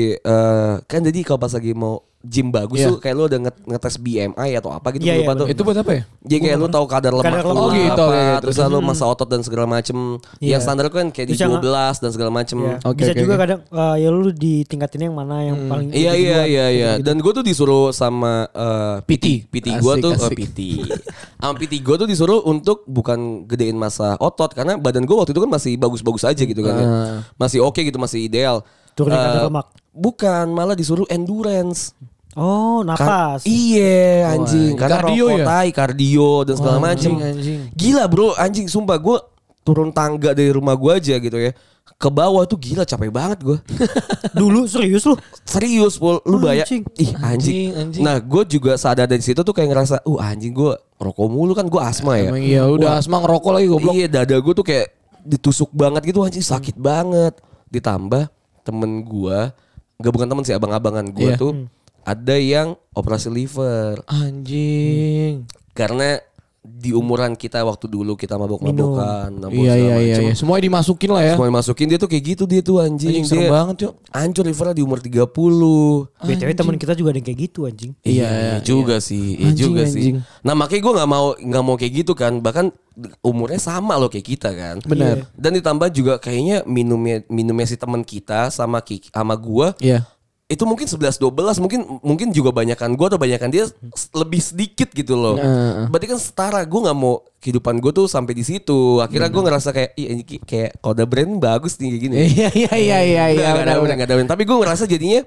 kan jadi kalau pas lagi mau gym bagus Iya. tuh kayak lu udah ngetes BMI atau apa gitu Iya, lupa iya, tuh. Itu buat apa ya? Jadi kayak lu tahu kadar lemak Kadar lu lemak. Oh gitu, apa, oke, terus lalu masa otot dan segala macem. Iya. Yang standar kan kayak di Terus yang- 12 dan segala macem. Iya. Oke, Bisa oke, juga oke. kadang ya lu ditingkatin yang mana yang paling Iya gitu iya duluan. iya iya. Gitu-gitu. Dan gue tuh disuruh sama PT gue Asik, tuh asik. PT. Sama PT gue tuh disuruh untuk bukan gedein masa otot karena badan gue waktu itu kan masih bagus-bagus aja gitu kan. Ya. Masih oke gitu, masih ideal. Turunin kadar lemak. Bukan, malah disuruh endurance. Oh, napas. Iya anjing, Wah, karena kardio rokok ya? tai, kardio dan segala macem. anjing. Gila bro, anjing sumpah gue turun tangga dari rumah gue aja gitu ya. Ke bawah tuh gila capek banget gue. Dulu serius lu? Serius Pul, lu bayar. Anjing. Ih anjing. Anjing. Nah gue juga sadar dari situ tuh kayak ngerasa, anjing gue rokok mulu kan gue asma ya. Emang iya udah asma ngerokok lagi goblok. Iya dada gue tuh kayak ditusuk banget gitu anjing sakit banget. Ditambah temen gue, gak bukan temen sih abang-abangan gue Iya. tuh ada yang operasi liver. Anjing. Karena di umuran kita waktu dulu kita mabok-mabokan, mabok Iya segala iya iya. macem. Iya. Semua dimasukin lah ya. Semua dimasukin dia tuh kayak gitu dia tuh anjing. Anjing serem Dia banget cok. hancur livernya di umur 30. BTW teman kita juga ada yang kayak gitu anjing. Iya juga sih, iya Anjing, juga anjing. sih. Nah makanya gue nggak mau kayak gitu kan, bahkan umurnya sama loh kayak kita kan. Benar. Dan ditambah juga kayaknya minumnya si teman kita sama sama gue Iya. itu mungkin 11-12 mungkin juga banyakan gue atau banyakan dia lebih sedikit gitu loh. Berarti kan setara, gue nggak mau kehidupan gue tuh sampai di situ. Akhirnya gue ngerasa kayak ini kayak kalau ada brand bagus nih kayak gini. Iya iya iya iya iya. Gak ada brand. Tapi gue ngerasa jadinya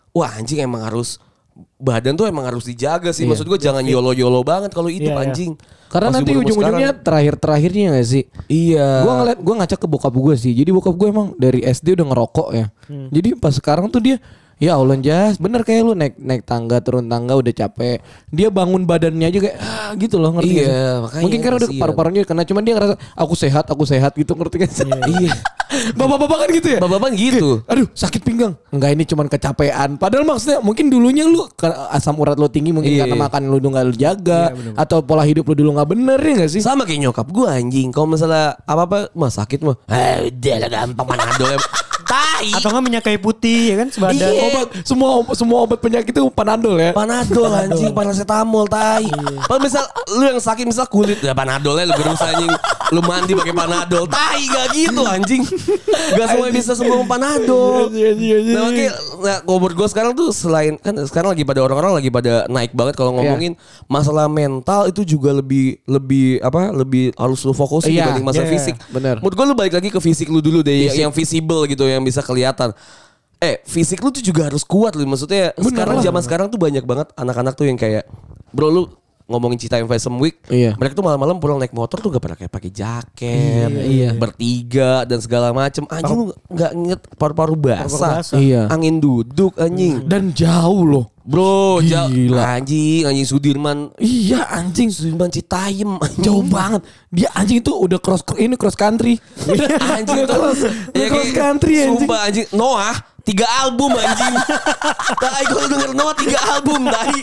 wah anjing emang harus badan tuh emang harus dijaga sih. Iya. Maksud gue jangan yolo-yolo banget kalau hidup Iya, iya. anjing. Karena Pas nanti umur-umur ujung-ujungnya sekarang. terakhir-terakhirnya gak sih? Iya. Gue ngacak ke bokap gue sih. Jadi bokap gue emang dari SD udah ngerokok ya. Jadi pas sekarang tuh dia, ya Allah Jas, bener kayak lu naik tangga turun tangga udah capek. Dia bangun badannya aja kayak gitu loh, ngerti Iya, gak sih? makanya Mungkin karena udah kasihan. paru-parunya kena, cuman dia ngerasa aku sehat gitu, ngerti gak sih? Iya. Bapak-bapak kan gitu ya? Bapak-bapak gitu. Aduh sakit pinggang. Enggak, ini cuman kecapean. Padahal maksudnya mungkin dulunya lu asam urat lu tinggi mungkin Iya. karena makan lu gak lu jaga. Atau pola hidup lu dulu gak bener ya gak sih? Sama kayak nyokap gue anjing. Kalau misalnya apa-apa mah sakit mah. Udah lah gampang Panadol ya. Tai. Atau nggak minyak kayu putih ya kan sebadan. Iya. Obat semua obat penyakit itu Panadol ya. Panadol anjing, paracetamol tai. Kalau misal lu yang sakit misal kulit ya Panadolnya lu gerus anjing. Lu mandi pakai Panadol. Tai gak gitu anjing. Gak semuanya bisa sembuh sama Panadol. Nah makanya umur gue sekarang tuh selain kan sekarang lagi pada orang-orang lagi pada naik banget kalau ngomongin masalah mental itu juga lebih harus lu fokusin Iya, dibanding masalah iya, fisik. bener. Menurut gue lu balik lagi ke fisik lu dulu deh yang visible gitu yang bisa kelihatan. Fisik lu tuh juga harus kuat lu. Maksudnya sekarang zaman sekarang tuh banyak banget anak-anak tuh yang kayak bro lu ngomongin Cita yang Fashion Week, Iya. mereka tuh malam-malam pulang naik motor tuh gak pernah kayak pakai jaket, Iya. bertiga dan segala macem. Anjing lu nggak inget paru-paru basah, basah. Iya. angin duduk anjing. Dan jauh loh. Bro, Gila. anjing Sudirman, Iya anjing. Sudirman Citayam, Jauh banget. Dia anjing itu udah cross country. anjing tuh, cross country anjing. Sumpah anjing, Noah 3 album anjing. Tai kalau denger Noah 3 album tai.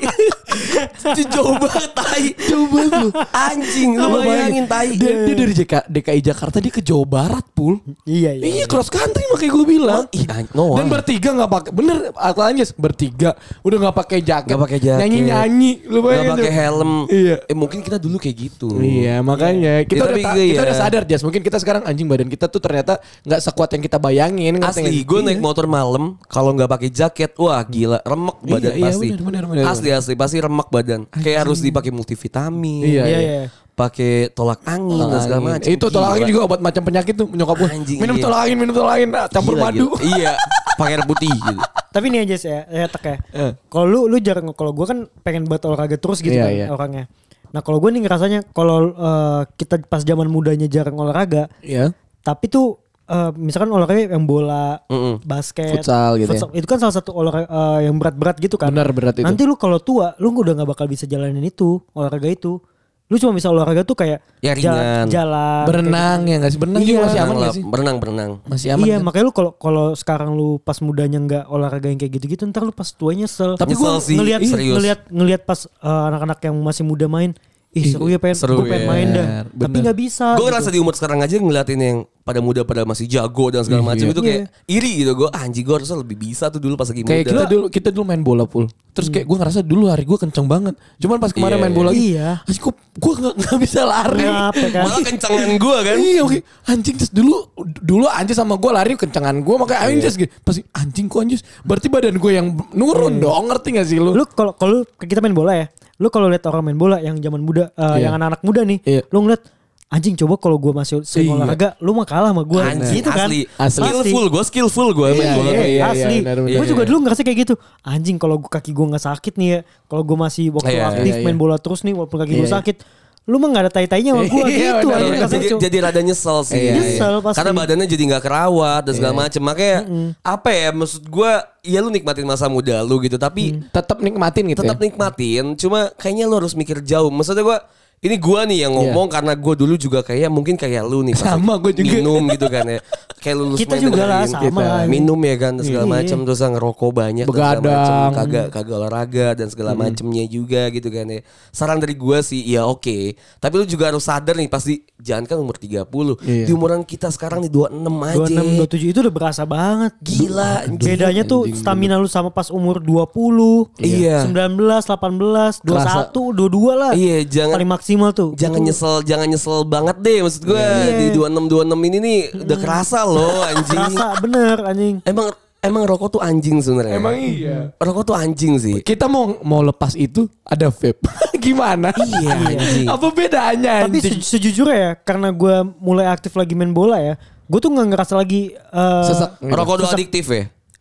Itu jauh banget tai. Jauh banget lu. Anjing lu bayangin tai. Dia dari DKI Jakarta dia ke Jawa Barat pul. Iya. Iya cross country makanya gue bilang. Noah. Dan bertiga nggak pakai, bener akalnya bertiga udah nggak pakai jaket, Nggak pakai jaket. nyanyi lu Gak bayangin pakai tuh. helm. Iya. Mungkin kita dulu kayak gitu. Iya makanya kita Ya, udah tapi kita iya. udah sadar Jas, mungkin kita sekarang anjing badan kita tuh ternyata nggak sekuat yang kita bayangin. ngerti nggak Asli, sih? gue Iya. naik motor malam kalau nggak pakai jaket, wah gila, remek badan Iya, pasti. benar. Asli pasti remek badan. Kayak harus dipakai multivitamin. Iya, Iya. Pakai tolak angin dan segala macam. Itu tolak angin juga obat macam penyakit tuh nyokap gue. Anjing, Minum iya. tolak angin, campur madu. Iya, pakai air putih gitu. Tapi nih aja ya tak ya. Kalau lu jarang, kalau gue kan pengen buat olahraga terus gitu Iya, kan iya. orangnya. Nah kalau gue nih ngerasanya kalau kita pas zaman mudanya jarang olahraga, Iya. tapi tuh misalkan olahraga yang bola, basket, Futsal gitu ya. itu kan salah satu olahraga yang berat-berat gitu kan. Benar, berat itu. Nanti lu kalau tua, lu udah nggak bakal bisa jalanin itu olahraga itu. Lu cuma bisa olahraga tuh kayak Ya, ringan. jalan, Berenang ya nggak sih? Berenang Iya. juga masih aman nggak sih? Berenang. Masih aman. Iya kan? makanya lu kalau sekarang lu pas mudanya nggak olahraga yang kayak gitu-gitu, ntar lu pas tua nyesel. Tapi gua gua sih, serius. ngelihat pas anak-anak yang masih muda main, seru ya seru gue pengen ya. main dah. Bener. Tapi nggak bisa. Gue gitu. ngerasa di umur sekarang aja ngeliatin yang pada muda pada masih jago dan segala macam itu kayak iri gitu. Gue anjing gue harusnya lebih bisa tuh dulu pas lagi Kayak muda. kita dulu main bola pul. Terus kayak gue ngerasa dulu lari gue kenceng banget. Cuman pas kemarin Iya, main bola lagi, iya. anjing gue nggak bisa lari. Kenapa kan? Malah kencengan gue kan. Iya oke. Anjing terus dulu anjing sama gue lari kencengan gue makanya anjing gitu. Pasti anjing kok anjing. Berarti badan gue yang nurun dong, ngerti gak sih lu? Lu kalau kita main bola ya, lu kalau lihat orang main bola yang zaman muda, yang anak-anak muda nih, Iya. lu ngeliat anjing coba kalau gue masih sering Iya. olahraga, lu mah kalah sama gue. Anjing Gitu kan? asli. Skillful gue main Iya, bola. iya, iya. Asli. benar. Gue juga dulu ngerasa kayak gitu. Anjing kalau kaki gue nggak sakit nih ya, kalau gue masih waktu Iya, aktif iya, main iya. bola terus nih walaupun kaki gue Iya, iya. sakit, lu mah nggak ada tai-tainya sama gue Iya, gitu. benar, anjing, benar. rasanya, Cuk. Jadi rada nyesel sih. Iya, Nyesel pasti. Karena badannya jadi gak kerawat dan segala macem. Makanya apa ya maksud gue, ya lu nikmatin masa muda lu gitu. Tapi Tetap nikmatin gitu tetap ya. nikmatin. Cuma kayaknya lu harus mikir jauh. Maksudnya gue, ini gue nih yang ngomong karena gue dulu juga kayak mungkin kayak lu nih. pas Sama, gua juga. minum gitu kan ya. Kayak lulus Kita juga lah, sama lah. minum ya kan dan segala Iya. macam. Terus ngerokok banyak dan Begadang. segala macam. Kagak olahraga dan segala macemnya juga gitu kan ya. Saran dari gue sih ya oke. Tapi lu juga harus sadar nih pasti jangan kan umur 30. Iya. Di umuran kita sekarang nih 26 aja. 26, 27 itu udah berasa banget. Gila. Bedanya tuh stamina lu sama pas umur 20, Iya. 19, 18, 21, 22 lah. Iya, jangan Paling maksimal tuh. jangan nyesel banget deh maksud gue. Di 26 ini nih udah kerasa loh anjing. Rasa bener anjing. Emang rokok tuh anjing sebenarnya. Emang iya. Rokok tuh anjing sih. Kita mau lepas itu ada vape. Gimana? Iya anjing. Apa bedanya Tapi anjing? sejujurnya ya, karena gue mulai aktif lagi main bola ya, gue tuh nggak ngerasa lagi Sesek. Rokok tuh adiktif ya?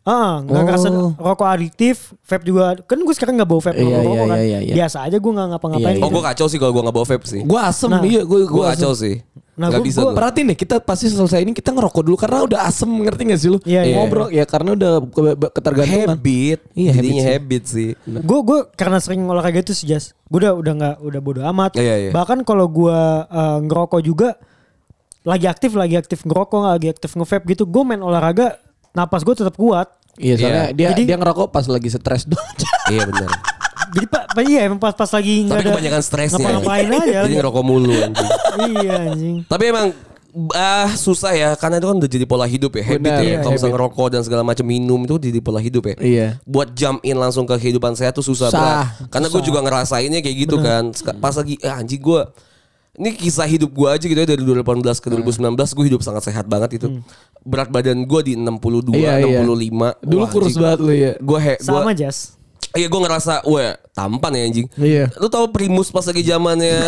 Nggak ngerasa rokok adiktif, vape juga. Kan gue sekarang nggak bawa vape rokok kan. Iya. Biasa aja gue nggak ngapa-ngapain. Oh gue kacau sih kalau gue gak bawa vape sih. Gue asem, Nah, iya gue Gue kacau sih. Nah, Gak bisa gue. perhatiin deh, kita pasti selesai ini kita ngerokok dulu karena udah asem, ngerti gak sih lu? Iya, iya. Ngobrol ya karena udah ketergantungan. Habit. Iya, Jadinya habit habit sih. Gue karena sering olahraga itu sih Jas. Gue udah bodo amat. Iya. Bahkan kalau gue ngerokok juga lagi aktif ngerokok, lagi aktif nge-vape gitu. Gue main olahraga, napas gue tetap kuat. Iya, soalnya Jadi- dia ngerokok pas lagi stres doang. Iya benar. Jadi iya emang pas lagi nggak Tapi ada kebanyakan stresnya. ngapa-ngapain aja. Jadi ngerokok mulu anjing. Iya anjing. Tapi emang susah ya karena itu kan udah jadi pola hidup ya, habit Benar, ya. iya, Kalau misalnya habit. ngerokok dan segala macam minum itu jadi pola hidup ya. Iya. Buat jump in langsung ke kehidupan saya tuh susah Susah, banget. Karena gue juga ngerasainnya kayak gitu kan. Pas lagi anjing gue ini kisah hidup gue aja gitu ya dari 2018 ke 2019 gue hidup sangat sehat banget itu. Berat badan gue di 62, Iya, iya. 65. Dulu Wah, kurus anjing. banget lu ya. Sama Jas. Iya gue ngerasa, wah tampan ya anjing. Iya. Lu tahu Primus pas lagi zamannya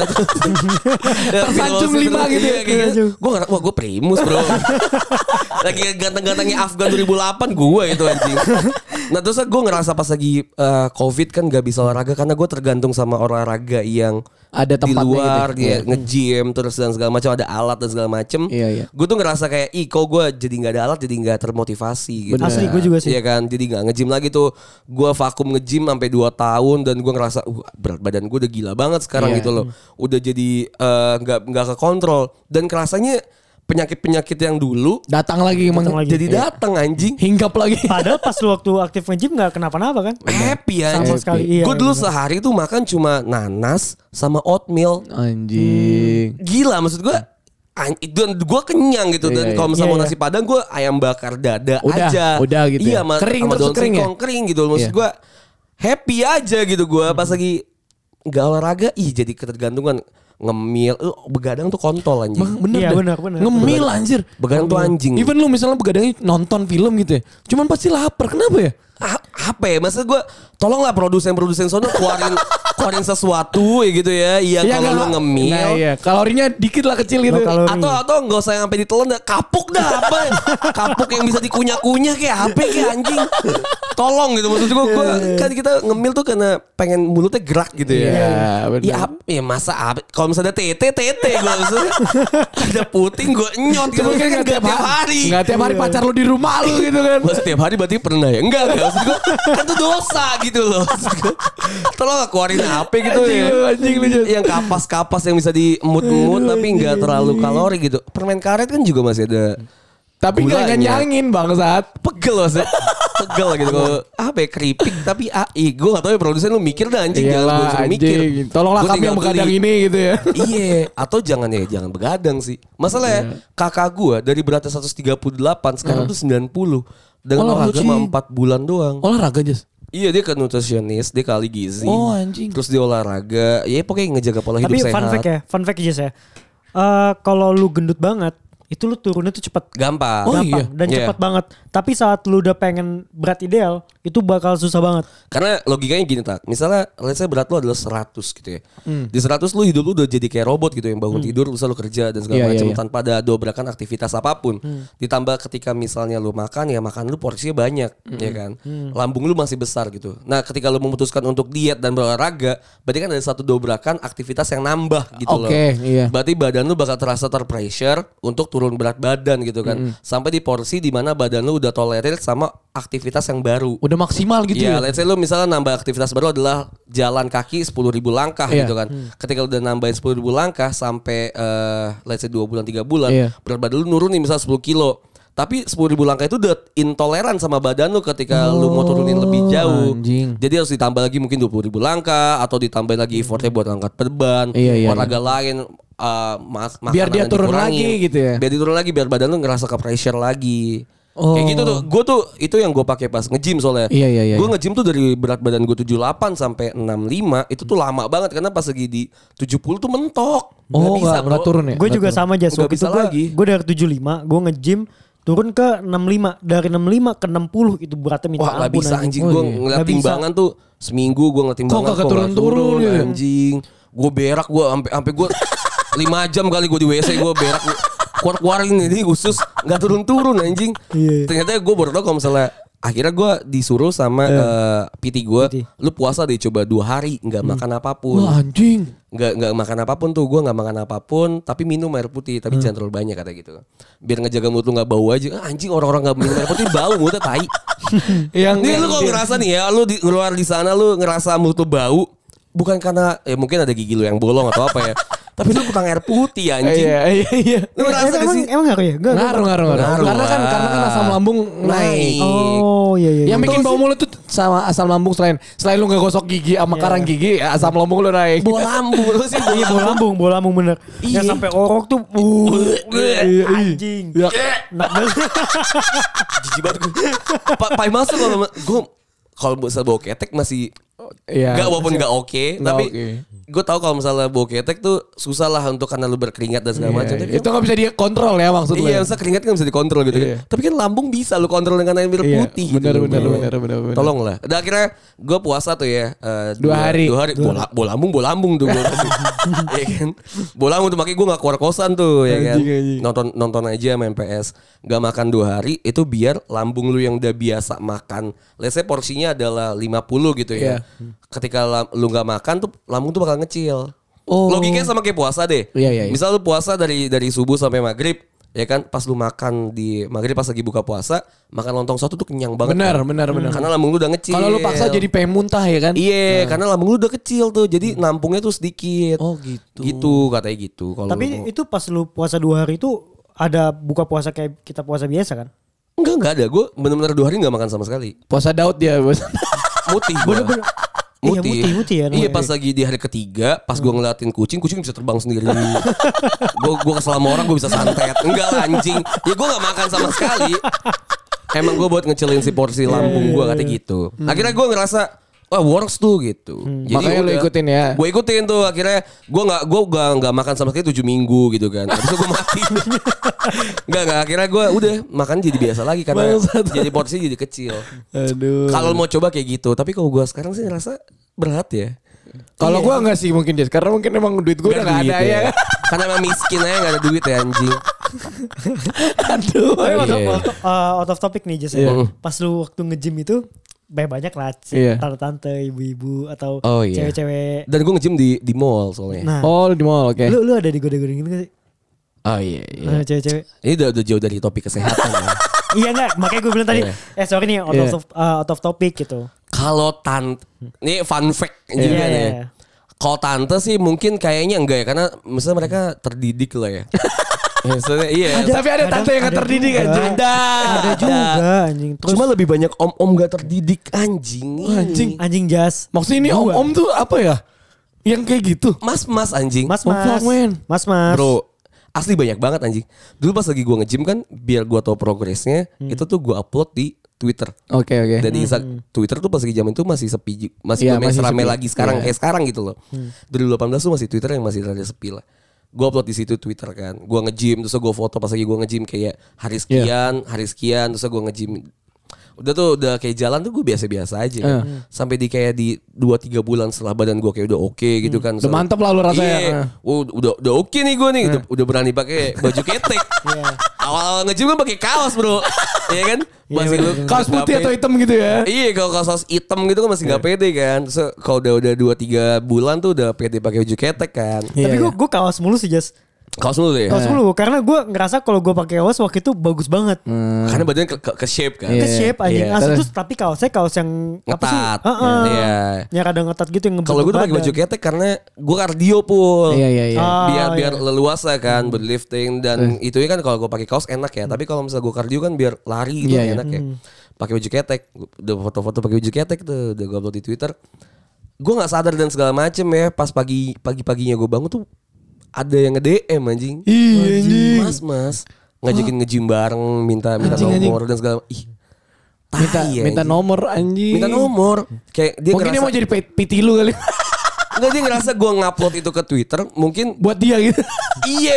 Tersanjung 5 gitu ya. Gue ngerasa, wah gue Primus bro. Lagi ganteng-gantengnya Afgan 2008 gue itu anjing. Nah terus gue ngerasa pas lagi Covid kan gak bisa olahraga karena gue tergantung sama olahraga yang Ada di tempatnya luar gitu. dia Iya. nge-gym terus dan segala macam, ada alat dan segala macam. Iya. Gue tuh ngerasa kayak kok gue jadi nggak ada alat jadi nggak termotivasi gitu. Asli gue juga sih. Iya kan, jadi nggak nge-gym lagi tuh. Gue vakum nge-gym sampai 2 tahun dan gue ngerasa berat badan gue udah gila banget sekarang Iya. gitu loh. Udah jadi nggak kekontrol dan kerasanya penyakit-penyakit yang dulu Datang lagi emang. Datang lagi. jadi datang anjing. Hinggap lagi. Padahal pas lu waktu aktif nge-gym gak kenapa-napa kan? Happy ya. Sama sekali. Iya, Gue dulu bener. sehari tuh makan cuma nanas sama oatmeal. Anjing. Gila maksud gue. Dan gue kenyang gitu. Dan Iya, kalau misalnya iya. mau nasi padang gue ayam bakar dada Udah, aja. udah gitu Iya ya. sama, Kering sama terus daun kering ya? singkong kering gitu. Maksud Iya. gue happy aja gitu gue. Pas lagi gak olahraga jadi ketergantungan. Ngemil, begadang tuh kontol anjing. Bener Iya, dah. bener. Ngemil anjir. Begadang tuh anjing. Even lu misalnya begadangnya nonton film gitu ya. Cuman pasti lapar. Kenapa ya? Apa ya? Maksud gue tolonglah produsen sono keluarin sesuatu ya gitu ya. Yang Iya, kalau lu nggak- ngemil. Nah iya. Kalorinya dikit lah kecil gitu. Kalori. Atau nggak usah sampai ditelan dah, kapuk dah apa? Kapuk yang bisa dikunyah-kunyah kayak HP kayak anjing. Tolong gitu maksud gue kan kita ngemil tuh karena pengen mulutnya gerak gitu ya. Iya, benar. Iya, ya masa apa? Kalau misalnya ada tete gue maksudnya ada puting gue nyot gitu Cuman kan kan gak tiap hari. Gak tiap hari pacar lu di rumah lu gitu kan. Gua setiap hari berarti pernah ya? Enggak maksud gue kan itu dosa gitu loh. Maksud gua, tolong lah keluarin HP gitu ya. Anjing lu, Jas. Yang kapas-kapas yang bisa diemut-emut tapi nggak terlalu kalori gitu. Permen karet kan juga masih ada. Tapi gak Gulanya. nyanyangin bangsat. Pegel maksudnya. Pegel gitu. Kalau apa ya keripik tapi gue gak tau ya produsen lu mikir dah anjing. Jangan gue Iyalah suruh mikir. anjing. Tolonglah Gua kami tinggal yang begadang beli. ini gitu ya. Iya, atau jangan begadang sih. Masalahnya kakak gua dari beratnya 138 sekarang tuh 90. Dengan waktu Olahraga. cuma 4 bulan doang. Olahraga Jas. Iya dia ke nutritionist, dia kali gizi. Oh, anjing. Terus dia olahraga, ya pokoknya ngejaga pola hidup Tapi sehat. fun fact aja ya. Kalau lu gendut banget, itu lu turunnya tuh cepet. Gampang. Oh, Gampang iya. dan Iya. cepat banget. Tapi saat lu udah pengen berat ideal, itu bakal susah banget. Karena logikanya gini tak, misalnya let's say berat lu adalah 100 gitu ya. Di 100 lu hidup lu udah jadi kayak robot gitu yang bangun tidur lu selalu kerja dan segala Iya, macam iya, iya. tanpa ada dobrakan aktivitas apapun. Ditambah ketika misalnya lu makan ya makan lu porsinya banyak ya kan. Lambung lu masih besar gitu. Nah, ketika lu memutuskan untuk diet dan berolahraga, berarti kan ada satu dobrakan aktivitas yang nambah gitu loh. Oke, iya. Berarti badan lu bakal terasa terpressure untuk turun berat badan gitu kan. Sampai di porsi di mana badan lu udah tolerir sama aktivitas yang baru. Udah maksimal gitu Ya, ya. let's say lu misalnya nambah aktivitas baru adalah jalan kaki 10.000 langkah Iya. gitu kan. Ketika lu udah nambahin 10.000 langkah sampai let's say 2 bulan 3 bulan, Iya. berat badan lu nurun nih misalnya 10 kilo. Tapi 10.000 langkah itu udah intoleran sama badan lu ketika lu mau turunin lebih jauh. anjing. Jadi harus ditambah lagi mungkin 20.000 langkah atau ditambahin lagi effortnya buat angkat beban, Iya, iya, olahraga lain, Biar makanan dia yang turun dikurangin. lagi gitu ya. Biar dia turun lagi biar badan lu ngerasa ke pressure lagi. Oh. Kayak gitu tuh. Gue tuh itu yang gue pakai pas nge-gym soalnya. Iya, iya, iya. Gue nge-gym tuh dari berat badan gue 78 sampai 65 itu tuh lama banget karena pas lagi di 70 tuh mentok. Oh, nggak bro. turun ya? Gue juga Nggak sama aja. Nggak Waktu bisa itu lagi. gue dari 75, gue nge-gym turun ke 65. Dari 65 ke 60 itu beratnya minta Wah gak ampun. bisa anjing. Gue iya. ngeliat Nggak bisa. timbangan tuh seminggu gue ngeliat timbangan kagak kok nggak turun-turun gitu? anjing. Gue berak gue sampai gue 5 jam kali gue di WC gue berak. Keluar-keluarin ini usus nggak turun-turun anjing. Iya. Ternyata gue baru tau kalau misalnya akhirnya gue disuruh sama PT gue, PT. lu puasa deh coba 2 hari nggak makan apapun. Wah anjing. Nggak makan apapun tuh, gue nggak makan apapun tapi minum air putih, tapi jangan terlalu banyak kata gitu, biar ngejaga mulut lu nggak bau aja. Anjing, orang-orang nggak minum air putih bau mulutnya tai. Nih lu kalau ngerasa nih ya, lu di luar di sana lu ngerasa mulut lu bau, bukan karena mungkin ada gigi lu yang bolong atau apa ya, tapi lu kurang air putih anjing. Iya. Lu ngerasa gak sih? Emang ngaruh ya? Ngaruh. Karena kan asam lambung naik. Oh iya. Yang bikin bau mulut tuh sama asam lambung, selain lu nggak gosok gigi sama karang gigi, asam lambung lu naik. Bola lambung lu sih. Iya, bola lambung bener. Yang sampai orok tuh anjing. Enak banget. Jijik banget gue. Pak masuk kalau misalnya bau ketek masih Iya. walaupun nggak oke, tapi oke. gue tahu kalau misalnya bau ketek tuh susah lah untuk karena lu berkeringat dan segala macam. Tapi Itu nggak bisa dikontrol ya maksud lu. iya, misalnya keringat kan bisa dikontrol gitu kan. Tapi kan lambung bisa lu kontrol dengan air putih. Bener. Tolong lah. Udah akhirnya gue puasa tuh ya. 2 hari. Bola lambung tuh gue. Iya kan. Bola lambung tuh makanya gue gak keluar kosan tuh ya kan. Anjing. Nonton aja main PS. Gak makan 2 hari itu biar lambung lu yang udah biasa makan, let's say porsinya adalah 50 gitu ya. Ketika lu gak makan tuh lambung tuh bakal ngecil. Logikanya sama kayak puasa deh. Iya. Misal lu puasa dari subuh sampai maghrib, ya kan, pas lu makan di maghrib pas lagi buka puasa, makan lontong soto tuh kenyang banget. Benar. Karena lambung lu udah ngecil. Kalau lu paksa jadi pengen muntah ya kan? Iya, karena lambung lu udah kecil tuh, jadi nampungnya tuh sedikit. Oh gitu. Gitu katanya gitu. Kalau Tapi itu pas lu puasa 2 hari itu ada buka puasa kayak kita puasa biasa kan? enggak ada. Gue benar-benar 2 hari enggak makan sama sekali. Puasa Daud dia, Bos. Mutih gua. Iya, mutih ya Iya, namanya. pas lagi di hari ketiga, pas gue ngeliatin kucing bisa terbang sendiri. Gue kesel sama orang, gue bisa santet. Enggak lah anjing. Ya gue gak makan sama sekali. Emang gue buat ngecilin si porsi lambung gue katanya gitu. Akhirnya gue ngerasa wah works tuh gitu. Makanya lu ikutin ya. Gue ikutin tuh, akhirnya gue nggak makan sama sekali 7 minggu gitu kan. Habis itu gue mati. Enggak, akhirnya gue udah makan jadi biasa lagi karena jadi porsi jadi kecil. Aduh. Kalau mau coba kayak gitu, tapi kalau gue sekarang sih ngerasa berat ya. Kalau gua enggak sih mungkin dia. Karena mungkin emang duit gua udah enggak ada ya. Karena emang miskin aja gak ada duit ya anjing. Aduh. Tapi Iya. out of topic nih Jess ya. Pas lu waktu nge-gym itu banyak lah Iya. tante-tante, ibu-ibu atau Oh, iya. cewek-cewek. Dan gue nge-gym di mall soalnya. Nah, Oh, di mall, oke. lu ada digoda-godain gitu gak sih? Oh iya. Cewek-cewek. Ini udah jauh dari topik kesehatan ya. Iya enggak, makanya gue bilang tadi. Iya. Sorry nih out of topic gitu. Kalau tante, ini fun fact juga Iya, nih. iya. Kalau tante sih mungkin kayaknya enggak ya, karena misalnya mereka terdidik lah ya. Maksudnya iya. Tapi ada tante yang gak terdidik juga. anjing. Ada juga anjing. Terus Cuma lebih banyak om-om gak terdidik anjing. anjing Jas. Maksudnya ini Gua. om-om tuh apa ya? Yang kayak gitu. Mas anjing. Mas. fuck, man. Mas. Bro, asli banyak banget anjing. Dulu pas lagi gue nge-gym kan, biar gue tahu progresnya, itu tuh gue upload di Twitter. Oke. Dan di Twitter tuh pas lagi zaman itu masih sepi, masih Iya, belum masih ramai sepi. lagi sekarang Iya. kayak sekarang gitu loh. 2018 tuh masih Twitter yang masih rada sepi lah. Gue upload di situ Twitter kan. Gue nge-gym, terus gue foto pas lagi gue nge-gym kayak hari sekian, terus gue nge-gym. Udah kayak jalan tuh gue biasa-biasa aja kan. Sampai kayak di 2-3 bulan setelah badan gue kayak udah oke gitu kan. Udah mantep lah lu rasanya. Iya. Udah oke nih gue nih. Udah berani pakai baju ketek. Awal nge-gym kan pakai kaos bro. Iya kan? Masih Kaos putih atau hitam gitu ya. Iya, kalau kaos hitam gitu kan masih nggak pede kan. So, kalau udah 2-3 bulan tuh udah pede pakai baju ketek kan. Tapi gue kaos mulu sih Jas. Kaos dulu ya. Kaos mulu karena gue ngerasa kalau gue pakai kaos waktu itu bagus banget. Karena badannya ke shape kan. Iya. Ke shape anjing. Iya. Asli terus tapi kaosnya kaos yang apa sih? Ngetat. Heeh. Iya. Yang rada ngetat gitu yang Kalau gue udah pakai baju ketek karena gue kardio pul. Iya. Biar leluasa kan buat lifting dan itu kan kalau gue pakai kaos enak ya. Tapi kalau misalnya gue kardio kan biar lari gitu Iya, iya. enak ya. Pakai baju ketek, udah foto-foto pakai baju ketek tuh, udah gue upload di Twitter. Gue nggak sadar dan segala macem ya. Pas pagi-paginya gue bangun tuh ada yang nge-DM anjing. Iya anjing. Mas ngajakin nge-gym bareng, minta nomor dan segala. Ih. Minta nomor anjing. Minta nomor. Kayak dia Mungkin dia ngerasa mau jadi PT lu kali. enggak, dia ngerasa gue ngupload itu ke Twitter mungkin Buat dia gitu. iya buat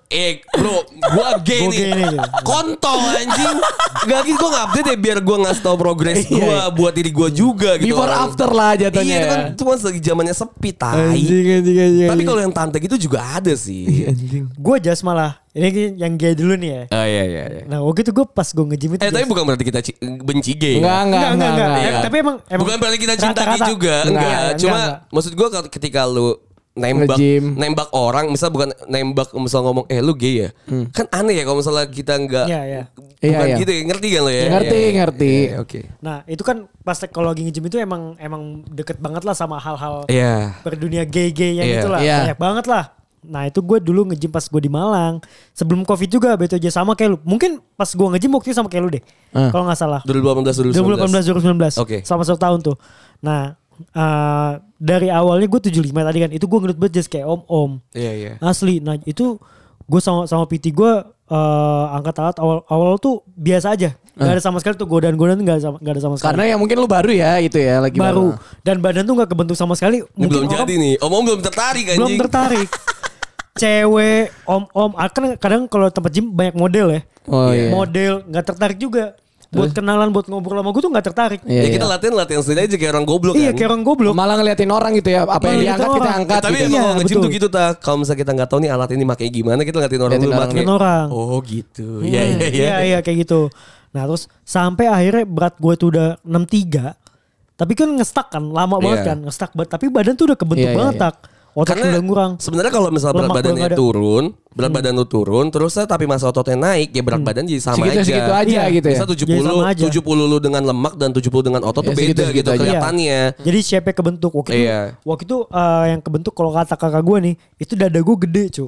bro, gue gay Gua nih. gay nih, gitu. Kontol anjing. Gak gitu, gue update ya biar gue ngasih tau progres gue buat diri gue juga gitu. Before orang. after lah jatuhnya. Iya, itu kan ya. cuma lagi zamannya sepi, tai. Anjing. Tapi kalau yang tante gitu juga ada sih. Gue just malah. Ini yang gay dulu nih ya. Oh iya. Nah waktu itu gue pas gue nge-gym itu. Tapi bukan berarti kita benci gay. Enggak. Iya. Tapi emang Bukan berarti kita cinta gay rata-rata. juga. Enggak, Enggak. Cuma maksud gue ketika lu Nge-gym. nembak orang, misal bukan nembak, misal ngomong lu gay ya. Kan aneh ya kalau misalnya kita enggak Iya. bukan Iya. gitu ya. Ngerti kan lo ya? Ngerti. Iya, oke. Nah itu kan pas kalau lagi nge-gym itu emang deket banget lah sama hal-hal Iya. berdunia gay-gay yang Iya. itulah. Iya. Banyak banget lah. Nah itu gue dulu nge-gym pas gue di Malang. Sebelum Covid juga betul aja sama kayak lu. Mungkin pas gue nge-gym waktu itu sama kayak lu deh. Kalau gak salah. 2018 2018 2019. Oke. Selama 1 tahun tuh. Nah dari awalnya gue 75 tadi kan. Itu gue ngeliat banget just kayak om-om. Iya. Asli. Nah itu gue sama PT gue angkat alat awal tuh biasa aja. Gak ada sama sekali tuh godaan-godaan gak ada sama sekali. Karena ya mungkin lu baru ya itu ya lagi baru. Dan badan tuh gak kebentuk sama sekali. Ini belum orang jadi nih. Om belum tertarik anjing. belum tertarik. Cewek, om-om, kan kadang kalau tempat gym banyak model ya. Oh, iya. Model gak tertarik juga. Buat kenalan, buat ngobrol sama gue tuh gak tertarik. Iya, Ya kita latihan sendiri aja kayak orang goblok Iya kan. kayak orang goblok. Malah ngeliatin orang gitu ya. Apa yang Ngeliatin diangkat kita orang. angkat Tapi gitu. emang Iya, kalau nge-gym betul. tuh gitu Kalau misalnya kita gak tahu nih alat ini makanya gimana, kita ngeliatin orang Liatin dulu orang. pakai. Ngeliatin orang. Oh gitu. Iya kayak gitu. Nah terus sampai akhirnya berat gue tuh udah 63. Tapi kan ngestak kan, lama banget Iya. kan, ngestak banget. Tapi badan tuh udah kebentuk Iya, banget iya. tak. Otak Karena udah ngurang. sebenarnya kalau misalnya berat Lemak badannya belum ada. turun, berat badan lu turun, terus tapi masa ototnya naik, ya berat badan jadi sama aja. Segitu aja Iya. gitu ya. Bisa Jadi sama aja. 70 lu dengan lemak dan 70 dengan otot tuh Ya, beda segitu-segitu gitu aja. kelihatannya. Jadi shape-nya kebentuk. Iya. Waktu itu yang kebentuk kalau kata kakak gue nih, itu dada gue gede cu.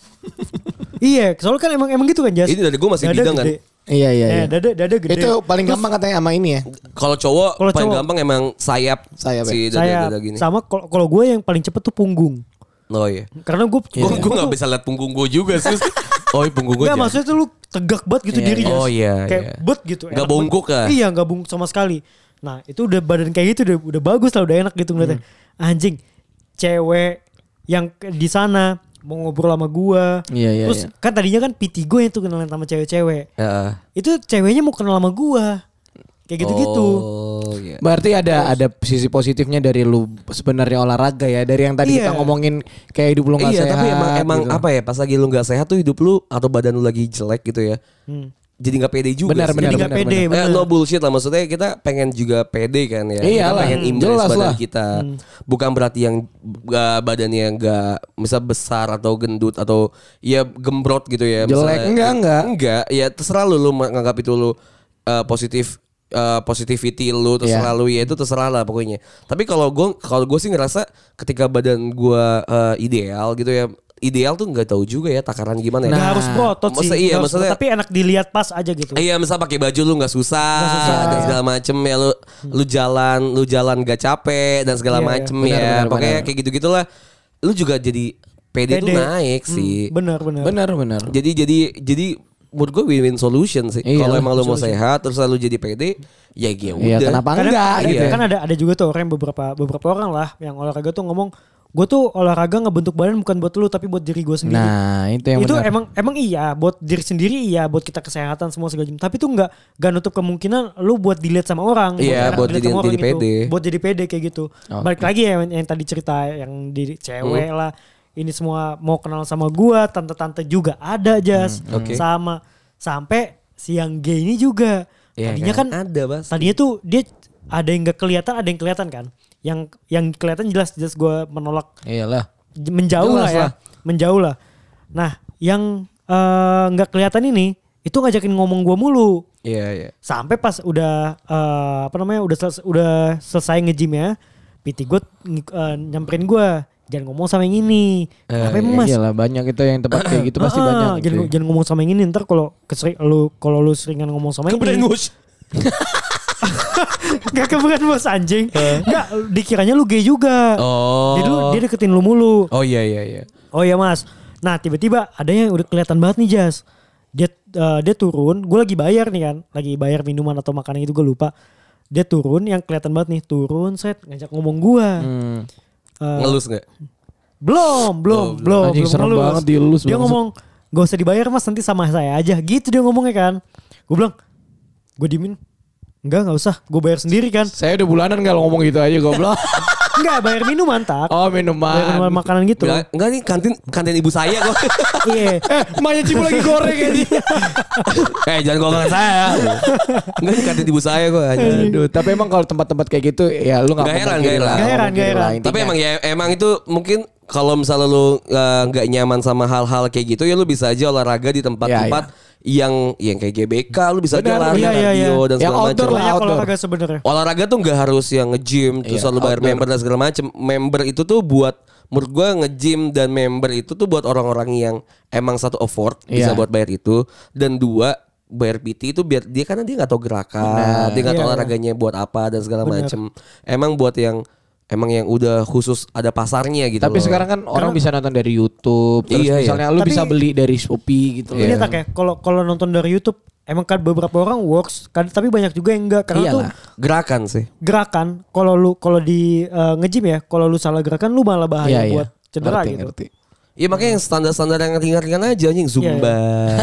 Iya, soalnya kan emang gitu kan Jas. Ini dada gue masih Dada bidang kan. gede. Iya. Dada gede. Itu paling gampang katanya sama ini ya. Kalau cowok Kalau paling cowok. gampang emang sayap Sayap ya. si Saya dada gini. sama kalau gue yang paling cepet tuh punggung. Oh iya. Karena gue Gue gak bisa lihat punggung gue juga sih. Oh iya punggung gue Enggak maksudnya tuh lu tegak banget gitu Iya, diri iya. Jas. Oh, iya, Kayak iya. bet gitu. Nggak enak bungkuk banget. ya? Iya gak bungkuk sama sekali. Nah itu udah badan kayak gitu udah bagus lah, udah enak gitu ngeliatnya. Anjing cewek yang di sana mau ngobrol sama gua. Iya, Terus kan tadinya kan PT gue yang tuh kenalan sama cewek-cewek. Heeh. Itu ceweknya mau kenal sama gua. Kayak gitu-gitu. Oh iya. Berarti ada sisi positifnya dari lu sebenarnya olahraga ya. Dari yang tadi Iya. kita ngomongin kayak hidup lu gak Iya sehat. tapi emang gitu. apa ya, pas lagi lu gak sehat tuh hidup lu atau badan lu lagi jelek gitu ya. Jadi gak pede juga Benar, sih. benar, Jadi gak pede bener. No bullshit lah, maksudnya kita pengen juga pede kan ya. Iyalah, Kita pengen impress jelas badan lah. kita. Bukan berarti yang badannya gak misal besar atau gendut atau ya gembrot gitu ya. Jelek, enggak. Enggak, ya terserah lu menganggap itu lu positivity lu terserah lu, ya itu terserah lah pokoknya. Tapi kalau gue sih ngerasa ketika badan gue ideal gitu ya. Ideal tuh nggak tahu juga ya takaran gimana ya. Nggak harus berotot sih. Maksudnya iya, Nggak harus maksudnya- berotot, tapi enak dilihat pas aja gitu. Iya, misal pakai baju lu nggak susah, dan segala macem ya, lu jalan gak capek dan segala Iya, macem iya. ya. Benar, Pokoknya benar. kayak gitu-gitulah. Lu juga jadi pede tuh Pede. naik sih. Bener. Benar. Jadi menurut gue win-win solution sih. Iya Kalau lah, emang lu mau sehat terus lu jadi pede, ya Iya, udah. kenapa Kadang enggak ada, gitu ya. kan ada juga tuh orang beberapa orang lah yang olahraga tuh ngomong, gue tuh olahraga ngebentuk badan bukan buat lu tapi buat diri gue sendiri. Nah, itu yang Itu benar. emang iya buat diri sendiri, iya buat kita kesehatan semua segala macam. Tapi tuh nggak nutup kemungkinan lu buat dilihat sama orang. Iya, enak buat dilihat sama jadi orang pede. Buat jadi pede kayak gitu. Oke. Balik lagi ya yang tadi cerita yang di cewek lah. Ini semua mau kenal sama gua, tante-tante juga ada Jas. Oke. Sama sampai siang gay ini juga. Iya Tadinya kan ada Bas. tadinya tuh dia ada yang nggak kelihatan, ada yang kelihatan kan. Yang kelihatan jelas gua menolak, Iyalah. menjauh Jelas lah ya, lah. menjauh lah. Nah, yang nggak kelihatan ini itu ngajakin ngomong gua mulu. Iya. Sampai pas udah udah selesai nge-gym ya, PT gue nyamperin gua, jangan ngomong sama yang ini. Kenapa emang Mas? Iyalah, banyak itu yang tempat kayak gitu pasti banyak. gitu. Jangan ngomong sama yang ini, ntar kalau lu seringan ngomong sama yang ini. Gak keberan bos anjing. Gak, dikiranya lu gay juga. Oh. Jadi dia deketin lu mulu. Oh iya. Oh iya Mas. Nah tiba-tiba ada yang udah kelihatan banget nih Jas. Dia turun, gue lagi bayar nih kan. Lagi bayar minuman atau makanan itu gue lupa. Dia turun, yang kelihatan banget nih. Turun set, ngajak ngomong gue. Ngelus nggak? Belum Anjing, serem ngelus. banget dielus Dia banget. ngomong, gak usah dibayar mas, nanti sama saya aja. Gitu dia ngomongnya kan. Gue bilang, gue diemin. Gak usah, gue bayar sendiri kan. Saya udah bulanan kalau ngomong gitu aja goblok. Enggak, bayar minuman tak. Oh Bayar minuman. minuman makanan gitu. Bilang, enggak nih kantin ibu saya kok. Iya. Emaknya Cipu lagi goreng aja. Jangan golongan saya. Enggak nih kantin ibu saya kok. Aduh, tapi emang kalau tempat-tempat kayak gitu ya lu nggak Nggak heran, mungkin nggak lah, heran. nggak Nggak mungkin heran. lah, Tapi intinya. emang itu mungkin kalau misalnya lu nggak nyaman sama hal-hal kayak gitu ya lu bisa aja olahraga di tempat-tempat yang kayak GBK, lu bisa aja Benar, lari iya, iya, cardio iya. dan Yang segala outdoor macam. lah. Banyak outdoor. olahraga sebenarnya. Olahraga tuh nggak harus yang nge-gym terus Iya, lu bayar outdoor. member dan segala macam. Member itu tuh buat menurut gua nge-gym dan member itu tuh buat orang-orang yang emang satu afford bisa Iya. buat bayar itu, dan dua bayar PT itu biar dia karena dia nggak tahu gerakan, dia nggak tahu Iya, iya. olahraganya buat apa dan segala Benar. macam. Emang buat yang udah khusus ada pasarnya gitu. Tapi loh. sekarang kan orang bisa nonton dari YouTube. Terus Iya, iya. misalnya lu Tapi- bisa beli dari Shopee gitu. Ini tak ya, kalau nonton dari YouTube emang kan beberapa orang works kan, tapi banyak juga yang enggak karena tuh Iyalah. gerakan sih. gerakan kalau di nge-gym ya, kalau lu salah gerakan lu malah bahaya buat cedera Ngerti, gitu. ngerti. Iya makanya yang standar-standar yang ringan-ringan aja anjing, Zumba,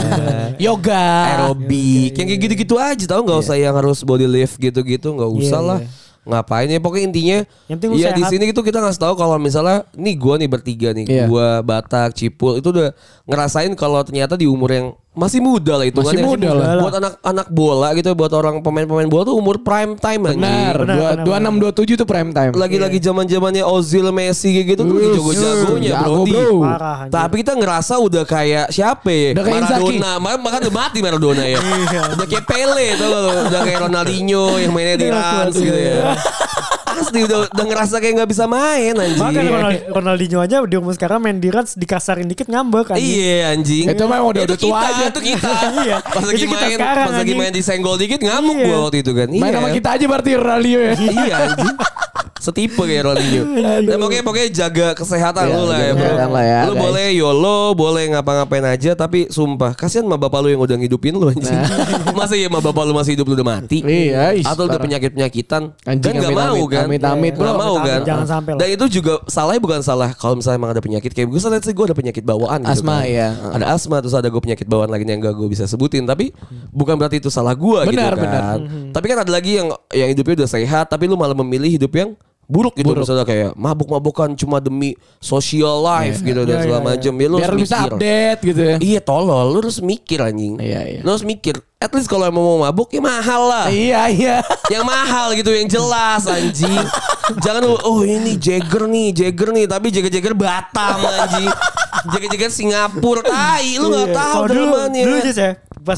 Yoga. aerobik, yang kayak gitu-gitu aja tau, nggak usah yang harus body lift gitu-gitu, nggak usah Iya, lah. Ngapain ya, pokoknya intinya Yang penting lu ya di sehat. sini gitu kita ngasih tahu kalau misalnya nih gua nih bertiga nih, Iya. gua Batak, Cipul itu udah ngerasain kalau ternyata di umur yang masih muda lah itu Masih muda lah. buat anak-anak bola gitu, buat orang pemain-pemain bola tuh umur prime time anjing. Benar. Benar. 26 27 tuh prime time. Lagi-lagi zaman-zamannya Ozil, Messi kayak gitu tuh lagi jago-jagonya jago, bro. bro. Parah anjing. Tapi kita ngerasa udah kayak siapa ya? Udah kayak Inzaghi. Maradona. Bahkan udah mati Maradona ya. Udah kayak Pele tuh loh. Udah kayak Ronaldinho yang mainnya di Rans gitu ya. Asli udah ngerasa kayak gak bisa main anjing. Bahkan Ronaldinho aja di umur sekarang main di Rans dikasarin dikit ngambek kan. Iya anjing. Itu mah udah tua aja. Itu kita. Iya. Pas lagi Itu kita main, sekarang, pas lagi anjing. main disenggol dikit ngamuk Iya. gua waktu itu kan. Main sama kita aja berarti Ronaldo ya. Iya anjing. Setipe kayak Ronaldinho. Nah, pokoknya jaga kesehatan Iya, lu lah ya jaga bro. kesehatan lah ya, Lu guys. boleh YOLO, boleh ngapa-ngapain aja, tapi sumpah kasihan sama bapak lu yang udah ngidupin lu anjing. Masa ya sama bapak lu masih hidup lu udah mati? Iya, ih, Atau udah parah. penyakit-penyakitan? Anjing, Kan gak amit-amit, mau kan? amit-amit, Gak bro. mau kan? Jangan sampai lah. Dan itu juga salahnya bukan salah kalau misalnya emang ada penyakit kayak gue, salah sih gue ada penyakit bawaan gitu Asma, kan. iya. Ada asma, terus ada gue penyakit bawaan lagi yang gak gue bisa sebutin, tapi bukan berarti itu salah gue gitu Benar, kan. benar. Tapi kan ada lagi yang hidupnya udah sehat tapi lu malah memilih hidup yang buruk gitu, misalnya kayak mabuk-mabukan cuma demi social life gitu dan Iya, segala iya, macam. Ya lu Biar harus lu bisa mikir. update gitu ya. Iya tolol, lu harus mikir anjing. Iya, iya. Lu harus mikir. At least kalau emang mau mabuk ya mahal lah. Iya, iya. Yang mahal gitu, yang jelas anjing. Jangan lu, oh ini Jagger nih, tapi Jagger Batam anjing. Jagger Singapura, tai lu nggak tahu Kalau dulu dalamannya. aja ya,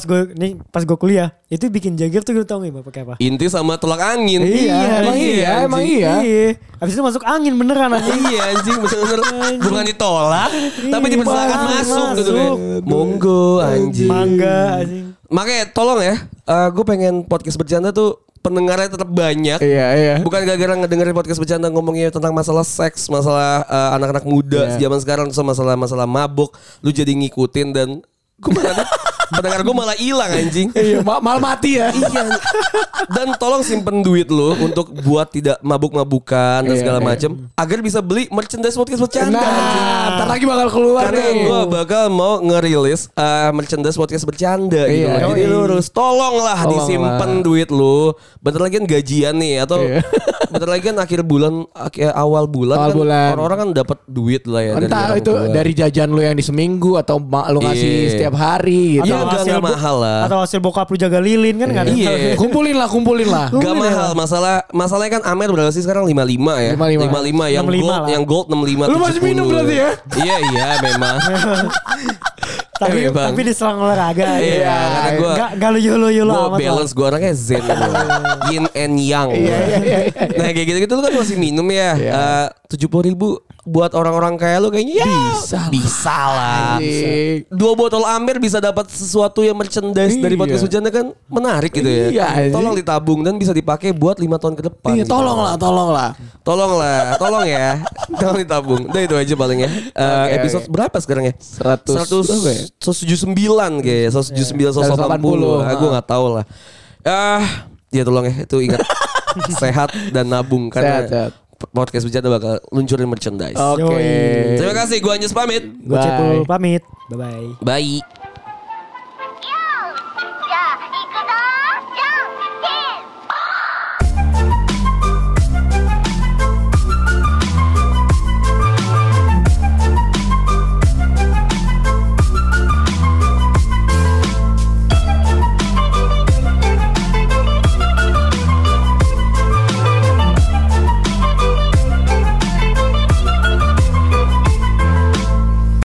pas gue kuliah itu bikin Jagger tuh gue tau gak pakai apa? Inti sama tolak angin. Emang iya, emang anjing. iya. Habis itu masuk angin beneran anjing. Iya anjing, bener-bener bukan ditolak, tapi Iya, dipersilakan masuk gitu kan. masuk. Monggo anjing. Mangga anjing. Makanya tolong ya, gue pengen podcast bercanda tuh pendengarnya tetap banyak. Iya, iya. Bukan gara-gara ngedengerin podcast bercanda ngomongnya tentang masalah seks, masalah anak-anak muda zaman sekarang, terus masalah mabuk, lu jadi ngikutin dan pendengar gue malah hilang anjing. Iya, malah mati ya. Iya. Dan tolong simpen duit lu untuk buat tidak mabuk-mabukan dan Iya, segala iya. macam agar bisa beli merchandise podcast bercanda anjing. Nah, ntar lagi bakal keluar Karena nih. gue bakal mau ngerilis merchandise podcast bercanda gitu Iya, loh. Jadi iya. lu harus tolonglah Tolong disimpan lah. duit lu. Bentar lagi kan gajian nih, atau Iya. bentar lagi kan akhir bulan, awal bulan Awal kan bulan. orang-orang kan dapat duit lah ya. Entah orang itu tua. dari jajan lu yang di seminggu atau lu ngasih Iya. setiap hari gitu. Iya, nggak mahal lah. Atau hasil bokap lu jaga lilin kan nggak ada. Iya. Kumpulin lah. Gak mahal, masalahnya kan Amer berapa sih sekarang 55 ya? 55. Yang 65 gold, lah. yang gold 65. Lu masih minum berarti ya? Iya memang. Bang. tapi diserang olahraga. Iya, karena gua- Gak lu yolo Gue amat lah. balance, gue orangnya zen gitu. Yin and yang. Nah kayak gitu-gitu lu kan masih minum ya. 70.000 buat orang-orang kayak lu kayaknya ya bisa lah. Anjing. 2 botol Amer bisa dapat sesuatu yang merchandise dari Iya. podcast bercanda kan menarik gitu ya. Iya, anjing. Tolong ditabung dan bisa dipakai buat 5 tahun ke depan. Iya, gitu. tolong lah. Tolong ya. Tolong ditabung. Udah itu aja paling ya. Episode berapa sekarang ya? 100 berapa ya? 179 kayaknya. 179, 180. 180. Gue gak tahu lah. Ya tolong ya. Itu ingat. Sehat dan nabung. Karena Sehat. podcast bercanda bakal luncurin merchandise. Oke. Yoi. Terima kasih, gue Anjas pamit. Gue Bye. Cepul pamit. Bye-bye. Bye.